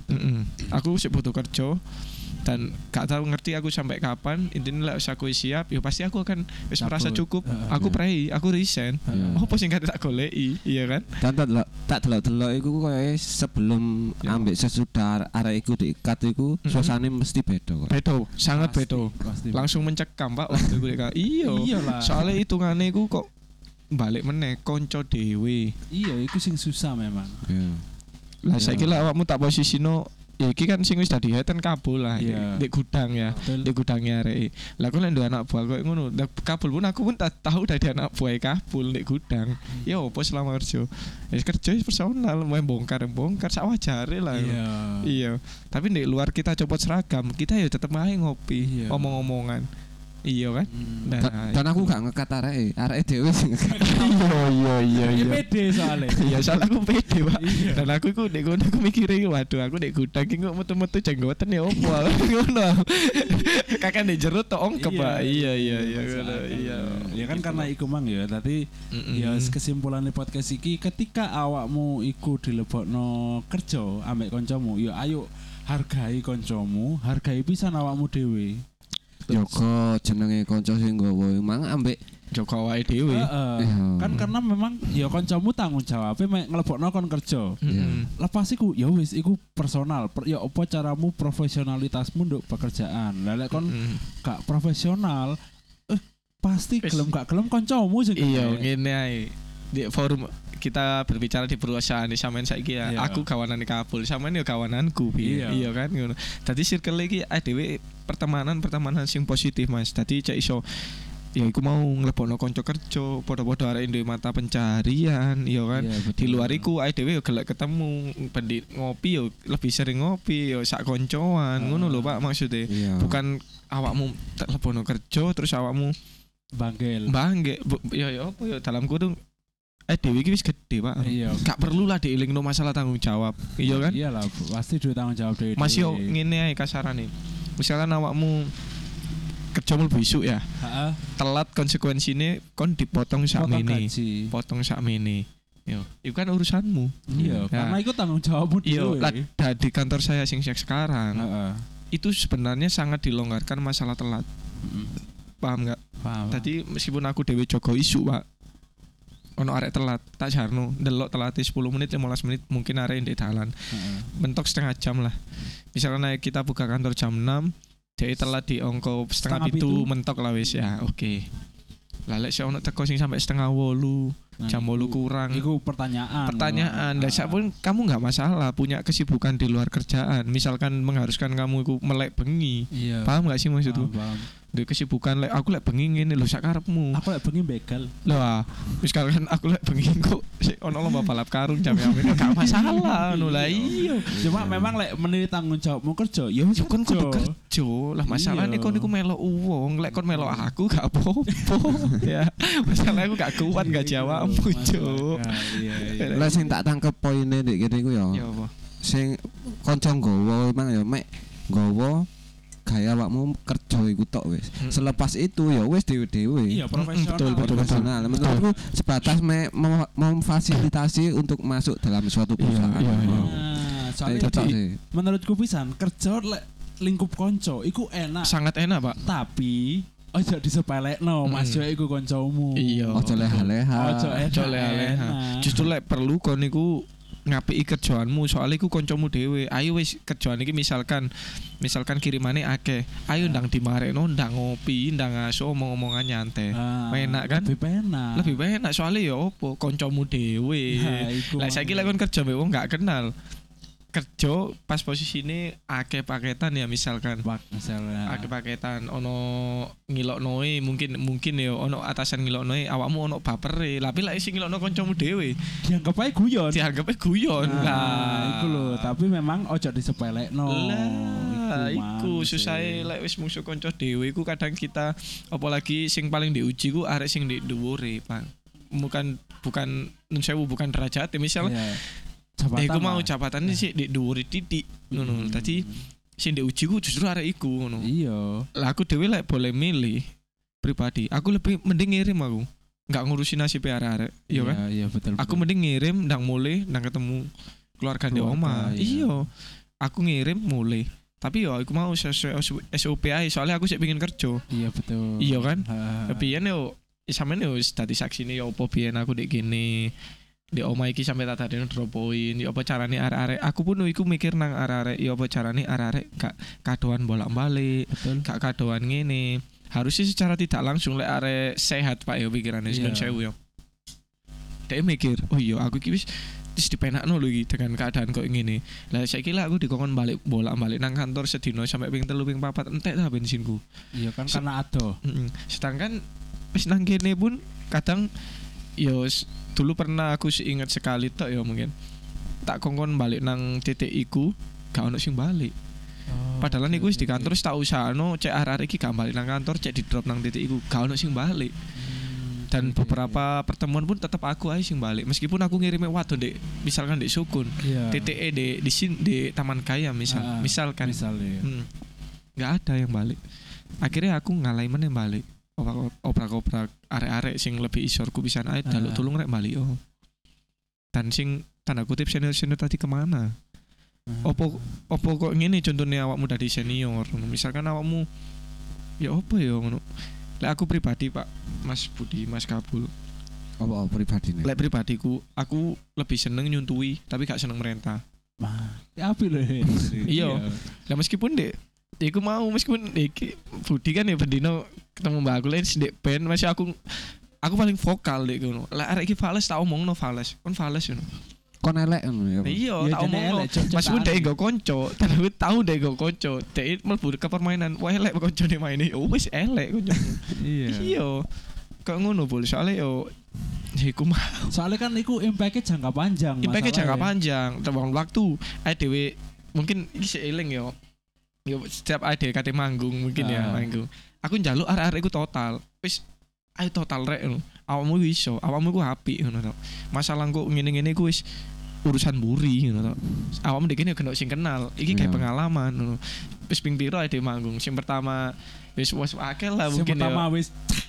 aku sih butuh kerja dan gak tahu ngerti aku sampai kapan intinya lah aku siap ya pasti aku akan wis merasa cukup aku pray aku resign apa sing tak goleki iya kan Dan tak delok-delok iku koyo sebelum ambek sesudah arek iku diikat iku suasane mesti beda kok. bedo sangat bedo Pasti. langsung mencekam Pak waktu gue iya Iyalah. soalnya hitungane iku kok balik meneh konco dhewe Iya, iku sing susah memang. Iya. lah saiki lah awakmu tak posisino ya iki kan sing wis dadi heten kabul lah Iya. di gudang ya Betul. di gudangnya arek lah aku lek duwe anak buah koyo ngono lah kabul pun aku pun tak tahu dari anak buah kabul di gudang ya opo selama kerja kerja personal main bongkar sak wajare lah iya tapi di luar kita copot seragam kita ya tetep ae ngopi Iya. omong-omongan iya kan Dan aku gak ngekat areke dhewe sing ngekat. iya Ini pede soalnya. iya soalnya aku pede Pak Iya. dan aku iku ndek ngono aku mikire waduh aku ndek gudang iki kok metu-metu jenggoten ya opo ngono kakak ndek jero tok ongkep Pak iya ngono iya Ya kan karena iku mang ya. Tadi ya kesimpulannya podcast iki ketika awakmu iku dilebokno kerja ambek kancamu ya ayo hargai kancamu, hargai pisan awakmu dhewe. Joko jenenge kanca sing nggawa mang ambek Joko awake dhewe Iya. Kan karena memang ya kancamu tanggung jawabnya mek nglebokno kon kerja. Lepas iku ya wis iku personal. Ya apa caramu profesionalitasmu untuk pekerjaan. Lah lek kon gak profesional pasti Wis. gelem gak gelem kancamu sing iya kena. ngene ae di forum kita berbicara di perusahaan di sampean saiki ya Iya. aku kawanan di Kabul sampean ya kawananku Iya. iya kan ngono dadi circle iki dhewe pertemanan sing positif Mas dadi cek iso ya iku mau nglebokno kanca kerja, padha-padha arek duwe mata pencarian, ya kan. Iya, betul. Di luar iku awake dhewe yo gelek ketemu, ngopi yo lebih sering ngopi yo sak koncoan, ngono lho Pak maksudnya. Iya. Bukan awakmu lebono kerja terus awakmu Bangkel. bangge. Ya apa yo dalam kurung dhewe iki wis gede Pak. Iya. Gak perlu lah dielingno masalah tanggung jawab. Iya kan? Iyalah, pasti duwe tanggung jawab dhewe. Mas yo ngene ae kasarane. Misalkan awakmu kerja mlebu isuk ya. Heeh. Telat konsekuensine kon dipotong sak Potong mene. gaji. Potong sak mene. Yo, itu kan urusanmu. Iya, Ya. karena itu tanggung jawabmu Yo, dhewe. di kantor saya sing sekarang Heeh. itu sebenarnya sangat dilonggarkan masalah telat. Paham nggak? Paham. Tadi meskipun aku dewe jogo isu Pak, ono arek telat, tak jarno, delok telat 10 menit 15 menit mungkin arek ndek dalan. Heeh. Mentok setengah jam lah. Misalnya kita buka kantor jam 6, dia telat di ongko setengah Setengah pitu pitu. mentok lah wis ya, oke. Lah lek sik ono teko sing sampai setengah 8, Nah, jam 8 kurang. Iku pertanyaan. Pertanyaan, dan Nah, pun kamu nggak masalah punya kesibukan di luar kerjaan. Misalkan mengharuskan kamu itu melek bengi, Iya. paham nggak sih maksudku? Paham. Di kesibukan lek aku lek bengi ngene lho sak karepmu. Aku lek bengi begal. Lah, misalkan aku lek bengi kok sik ono lomba balap karung jam yang gak masalah ngono lah iya. Cuma memang lek meniti tanggung jawabmu kerja, ya wis Ya kon kudu kerja. Lah masalahnya Iya. kon iku melok wong, lek kon melok aku gak apa-apa. Ya, masalahnya aku gak kuat gak jawabmu, Cuk. Iya, iya. Lah sing tak tangkep poine ndek kene iku ya. Ya apa? Sing kanca nggawa emang ya mek nggawa gaya awakmu kerja iku tok wis. Selepas itu ya wis dhewe-dhewe. Iya, profesional. betul, betul. Profesional. Menurutku sebatas memfasilitasi untuk masuk dalam suatu perusahaan. iya, iya. Nah, soalnya Cocok sih. menurutku pisan kerja lek lingkup konco iku enak, Sangat enak, Pak. tapi ojo disepelekno Mas yo iku koncomu. Iya. Ojo leha-leha. Ojo Leha-leha. Justru lek perlu kon niku ngapiki kerjaanmu soalnya iku kancamu dhewe. Ayo wis kerjaan iki misalkan kirimane akeh. Ayo ndang dimarekno, ndang ngopi, ndang aso omong-omongan nyantai. Enak kan? Lebih penak. Lebih enak soalnya ya opo kancamu dhewe. Nah, iku Lah saiki lek kon kerja mbek wong gak kenal. Kerja pas posisine akeh paketan ya misalkan. misalnya. Akeh paketan ono ngiloknoe mungkin ya ono atasan ngiloknoe awakmu ono bapere. Tapi lek sing ngilokno kancamu dhewe dianggap ae guyon. dianggapnya guyon. Nah, iku lho, tapi memang ojo disepelekno. Lah, iku mang, susahe sih. lek wis musuh kanca dhewe iku kadang kita apalagi sing paling diuji ku arek sing di dhuwure, Pak. Bukan nun sewu bukan derajat misal Iya. Jabatan iku mau lah. jabatannya sih di dhuwure titik ngono. Dadi sing diuji ku justru arek iku ngono. Iya. Lah aku dhewe lek boleh milih pribadi, aku lebih mending ngirim aku. Enggak ngurusin nasib arek-arek, iya kan? Iya, betul. Aku mending ngirim ndang mulai ndang ketemu keluarga di omah. Iya. Iya. Aku ngirim mulai. Tapi yo aku mau sesuai SOP ae soalnya aku sih pengen kerja. Iya, betul. Iya kan? Heeh. Biyen yo sampean yo dadi saksine yo opo biyen aku dek gini. Di omah iki sampai tak tadene drop point. Yo apa carane arek-arek? Aku pun iku mikir nang arek-arek yo apa carane arek-arek gak kadoan bolak-balik, Betul. gak kadoan ngene. Harusnya secara tidak langsung lek arek sehat Pak yo pikirannya Iya. yeah. Sewu yo. Dia mikir, oh iya aku iki wis dipenakno lho iki dengan keadaan kok ngene. Lah saiki lah aku dikongkon balik bolak-balik nang kantor sedino sampai ping 3 ping 4 entek ta bensinku. Iya kan karena ado. Sedangkan wis nang kene pun kadang yo dulu pernah aku ingat sekali tok ya mungkin tak kongkon balik nang titik iku gak ono sing balik. Padahal niku wis di kantor wis tak usahano cek arek iki gak balik nang kantor cek di drop nang titik iku gak ono sing balik. Dan beberapa pertemuan pun tetap aku aja sing balik meskipun aku ngirime waduh dek misalkan dek Sukun Iya. TTE di Taman Kaya misalkan Misalnya. nggak ada yang balik akhirnya aku ngalai mana yang balik oprak-oprak arek-arek sing lebih isorku bisa ae jaluk tulung rek balik oh dan sing tanda kutip senior tadi kemana opo kok ngene contohnya awakmu dari senior misalkan awakmu ya opo ya ngono lek aku pribadi Pak Mas Budi Mas Kabul Apa pribadine? lek pribadiku aku lebih seneng nyuntui tapi gak seneng merintah Ya api lho. Iya. Lah meskipun dek iku mau meskipun iki Budi kan ya bendino ketemu Mbak aku lain dek band masih aku paling vokal dek ngono. Lah arek iki fales tak omongno fales. Kon fales ngono. kon elek ngono ya. Iya, Ya, tak jane omong. elek, cocok Mas pun tani. dek nggo konco, tapi tahu dek nggo konco. Dek mlebu ke permainan, wah elek koncone maine. Oh wis elek konco. Iya. Iya. Kok ngono bol, soalnya yo iku mah Soalnya kan iku impact jangka panjang. impake jangka masalahnya. panjang, terwong waktu. Dhewe mungkin iki seiling yo. Yo setiap ade kate manggung mungkin ya manggung. Aku njaluk arek-arek iku total. Wis ayo total rek ngono. Awakmu iso, awakmu iku apik ngono to. Masalah kok ngene-ngene iku wis urusan buri ngono to. Awakmu dek kene kena sing kenal. Iki kayak Iya. pengalaman ngono. Wis ping piro ade manggung. Sing pertama wis akeh lah Sing mungkin pertama ya. wis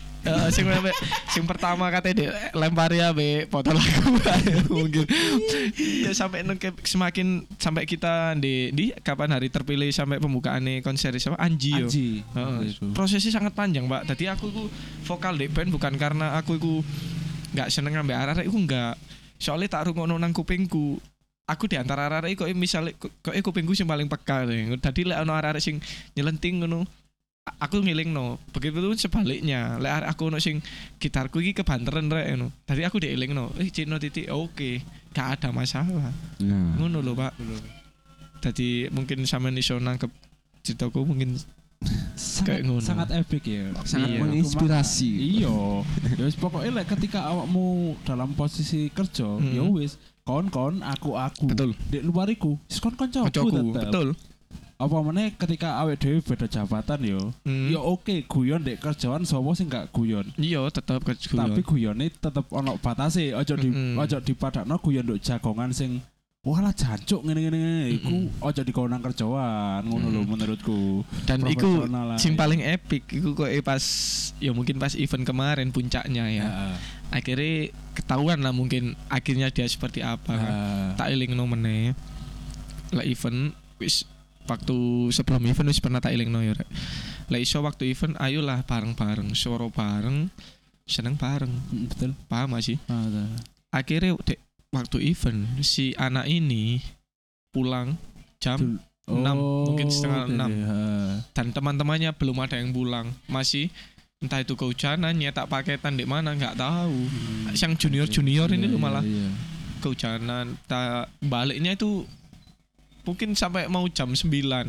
Sing pertama katanya lempari ya be foto lagu mungkin iya sampai semakin sampai kita di kapan hari terpilih sampai pembukaannya konser sama Anji yo. Anji. Heeh. Itu. Prosesnya sangat panjang Pak. Tadi aku iku vokal di band bukan karena aku iku nggak seneng ngambil arah-arah iku nggak. Soalnya tak rungokno nang kupingku. Aku di antara arah-arah iku misalnya kok kupingku sing paling peka. Tadi lek ono arah-arah sing nyelenting ngono aku ngilingno. Begitu pun sebaliknya. Lek arek aku ono sing gitarku iki kebanteran rek ngono. Tadi aku dielingno. Cino titik oke. Gak ada masalah. Nah. Ngono lho, Pak. Tadi mungkin sampean iso nangkep ceritaku mungkin kayak ngono. Sangat epic ya. Sangat Iya. menginspirasi. Iya. Ya wis pokoke lek ketika awakmu dalam posisi kerja, ya wis kon aku. Betul. Di luar iku, wis kon kancaku Kocokku, tetep. betul. Apa meneh ketika awake dhewe beda jabatan yo. Ya oke, guyon dek kerjaan sapa sing gak guyon. Iya, tetep Tapi guyone tetep ono batase, aja dipadakno guyon nduk jagongan sing walah jancuk ngene-ngene iku aja dikonang kerjaan ngono lho menurutku. Dan iku Profesional lah. sing paling epic iku kok pas ya mungkin pas event kemarin puncaknya ya. Heeh. Akhirnya ketahuan lah mungkin akhirnya dia seperti apa kan. Tak elingno meneh. Lah event wis waktu sebelum event wis pernah tak elingno ya rek. Lah iso waktu event ayolah bareng-bareng, suara bareng, seneng bareng. Betul. Paham gak sih? Ada. Akhirnya dek, waktu event si anak ini pulang jam 6, mungkin setengah 6. Dan teman-temannya belum ada yang pulang, masih entah itu kehujanan nyetak paketan di mana nggak tahu. Yang junior ini lu malah kehujanan, baliknya itu mungkin sampai mau jam 9.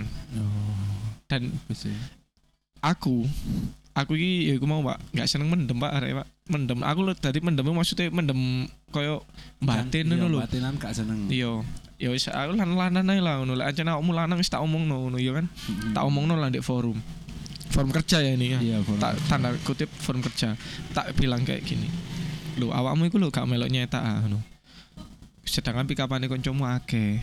Dan aku iki ya aku mau Pak nggak seneng mendem Pak arek Pak mendem aku lo tadi mendem maksudnya mendem koyo batin ngono lho. Batinan gak seneng. Iya ya wis aku lan-lanan ae lah ngono lek ancen awakmu lanang wis tak omongno ngono ya kan. Tak omongno lah ndek forum kerja ya ini ya. Iya, Tak tanda kutip forum kerja. Tak bilang kayak gini. Lho awakmu iku lho gak melok nyetak ngono. Sedangkan pikapane kancamu akeh.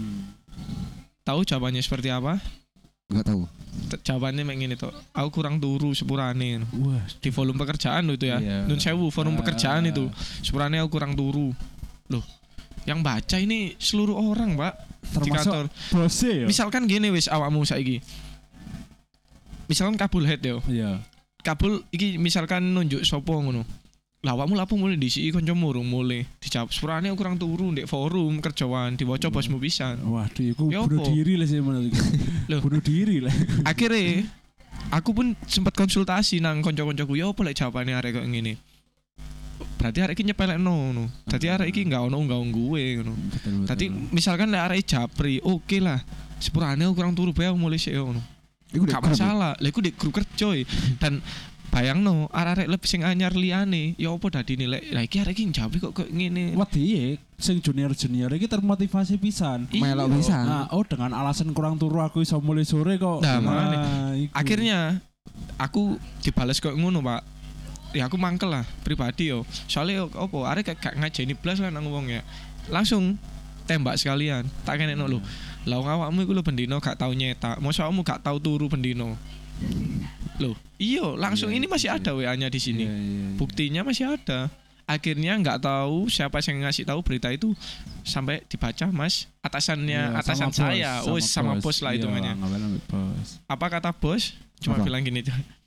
Tahu jawabannya seperti apa? Enggak tahu. Jawabannya mek ngene to. Aku kurang turu sepurane. Wah, Di volume pekerjaan lo itu ya. Iya. Nun sewu forum pekerjaan itu. Sepurane aku kurang turu. Loh, yang baca ini seluruh orang, Pak. Di kantor. termasuk bose ya. Misalkan gini wis awakmu saiki. Misalkan kabul head yo. Iya. Kabul iki misalkan nunjuk sopo ngono. Lah awakmu lapo mulai disiki kancamu urung mulai dijawab. Sepurane aku kurang turu ndek forum kerjaan diwaca bosmu pisan. Waduh, iku Ya bunuh apa? diri lah sih menurutku. Loh. Bunuh diri lah. Akhirnya aku pun sempat konsultasi nang kanca-kancaku ya apa lek jawabane arek kok ngene. Berarti arek iki nyepelekno ngono. Dadi arek iki enggak ono gue ngono. Betul. Tadi misalkan lek arek japri, oke lah. Sepurane aku kurang turu bae aku mulai sik ngono. Iku Gak masalah. Lek iku di grup kerja dan bayangno arek lebih sing anyar liyane ya apa dadine lek lah iki arek iki njawab kok ngene. Wedi sing junior iki termotivasi pisan. Iya. melok pisan. Nah, dengan alasan kurang turu aku iso mulai sore kok. Nah, makanya. iku. Akhirnya aku dibales kok ngono, Pak. Ya aku mangkel lah pribadi yo. Soalnya opo arek gak ngajeni blas lah nang wong ya. Langsung tembak sekalian. Tak kenekno lho. Lah awakmu iku lho bendino gak tau nyetak. Mosok awakmu gak tau turu bendino. Loh, iya langsung ini masih ada WA-nya di sini. Iya. Buktinya masih ada. Akhirnya nggak tahu siapa yang ngasih tahu berita itu sampai dibaca Mas atasannya Iya, atasan sama saya. bos, Sama bos lah Iya, hitungannya. ngawal bos. Apa kata bos? Cuma Apa? bilang gini.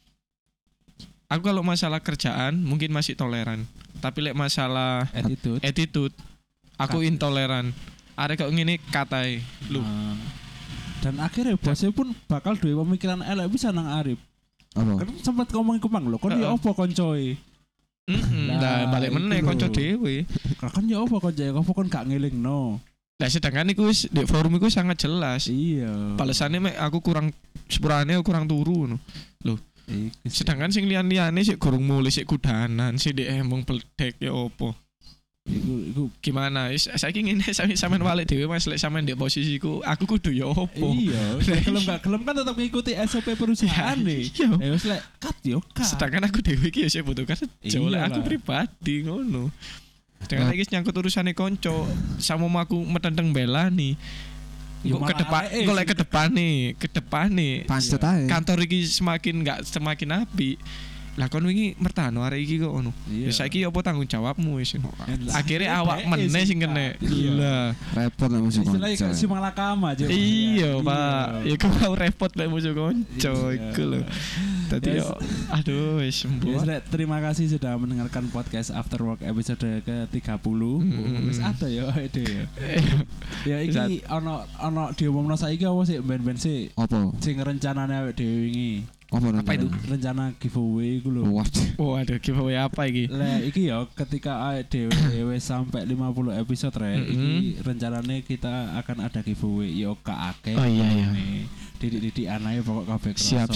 Aku kalau masalah kerjaan mungkin masih toleran, tapi lek masalah attitude aku intoleran. Arek kok ngene katai. Lu Ah. Dan akhirnya bosnya pun bakal duwe pemikiran elek bisa nang Arif. Apa? Kan sempat ngomong ke Mang lho, kon dia Heeh. opo koncoe? Nah, Nah, balik iku meneh lho. kanca dhewe. Kan ya apa konco apa kon gak ngelingno. Lah sedangkan iku wis di forum iku sangat jelas. Iya. Balesane mek aku kurang sepurane aku kurang turu ngono. Iku sih. Sedangkan sing liyan-liyane sik gorong mulih sik kudanan, sik dhek emong pledek ya opo. Iku Gimana? Saiki ngene sampean balik dhewe Mas lek sampean di posisiku, aku kudu ya opo. iya, gelem gak gelem kan tetap ngikuti SOP perusahaan nih. Iya. Ya wis lek cut yo cut. Sedangkan aku dhewe iki ya sik butuh kerja, lek aku Iyalah. pribadi ngono. Dengan lagi nyangkut urusane konco, sama aku metenteng bela nih. Ya Kok ke malah depan, areke kok lek sih. ke depan nih. Pancet ae. Kantor iki semakin api. Lah kon wingi mertano arek iki kok ngono. Iya. Ya saiki apa tanggung jawabmu wis. Akhirnya awak Dhek meneh sih, sing kene. Kak. Iya. Lah. Repot lah musuh Istilahnya kanca. kayak si malakama aja. Iya, Pak. Ya kok mau repot lek musuh konco Iya. iku lho. Dadi Yes. yo aduh wis Ya, sembuh. Srek, terima kasih sudah mendengarkan podcast After Work episode ke-30. Wis ada ya ide ya. Ya iki ono diomongno saiki apa sih ben-ben sih Apa? sing rencanane awake dhewe wingi. Apa itu? Rencana giveaway iku lho. Wah, Oh, aduh giveaway apa iki? Lah iki ya ketika awake dhewe wis sampai 50 episode iki rencanane kita akan ada giveaway yo akeh. Oh, iya. Didik-didik anae pokok kabeh kerasa. Siap.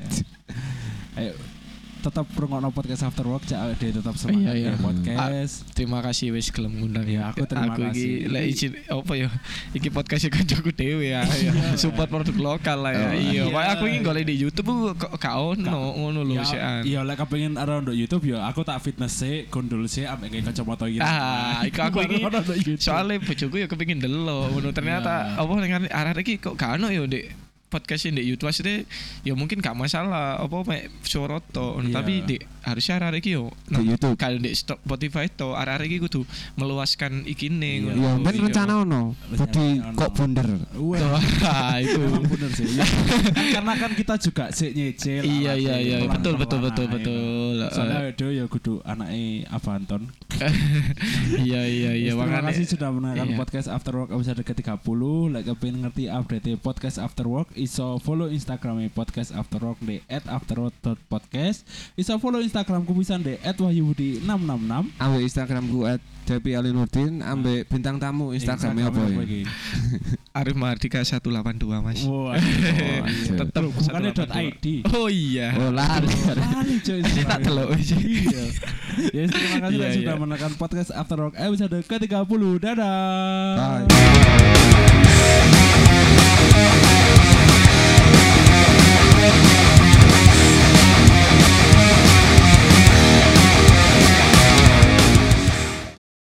Ayo tetap rungokno podcast After Work cak awake dhewe tetap semangat Iya. ya podcast. Terima kasih wis gelem ngundang Ya, aku terima iki kasih. lek izin apa ya? Iki podcast kancaku dhewe ya. Support produk lokal lah ya. Oh, Iya, iya. Pak aku iki golek di YouTube kok gak ono ngono lho sekan. Iya lek kepengin aro nduk YouTube ya aku tak fitness sih, gondol sih ambek nggae kacamata iki. Ah, iku aku iki Baru ono nduk YouTube. soalnya bojoku ya kepengin delok ngono ternyata Ya. apa ning arek iki kok gak ono ya Dek podcast di YouTube asli ya mungkin gak masalah apa mek suara to Iya. tapi di harusnya arek iki yo di YouTube. kalau di Spotify to arek iki kudu meluaskan ikine Iya. Ya ben rencana ono. Dadi Rencana kok ono. bunder. Wah, itu. Emang bener sih. Ya. Karena kan kita juga sik nyicil. Iya iya iya betul betul betul pelan-pelan betul. ae. Soalnya Edo ya kudu anake Avanton. Iya iya iya Terima makanya kasih sudah menonton iya. podcast After Work episode ke-30. Like kepengin ngerti update podcast After Work, iso follow Instagram podcast After Work di @afterwork.podcast. Iso follow Instagramku pisan di @wahyubudi666. Ambek Instagramku @depialinurdin ambek bintang tamu Instagramnya apa ya? iki? Arif Mardika 182 Mas. Wah, Tetep bukannya 182. .id. Oh iya. Oh, lari. Lali coy. Tak delok wis. Iya. Ya, terima kasih Iya, sudah iya. menekan podcast After Work episode ke-30. Dadah. Bye.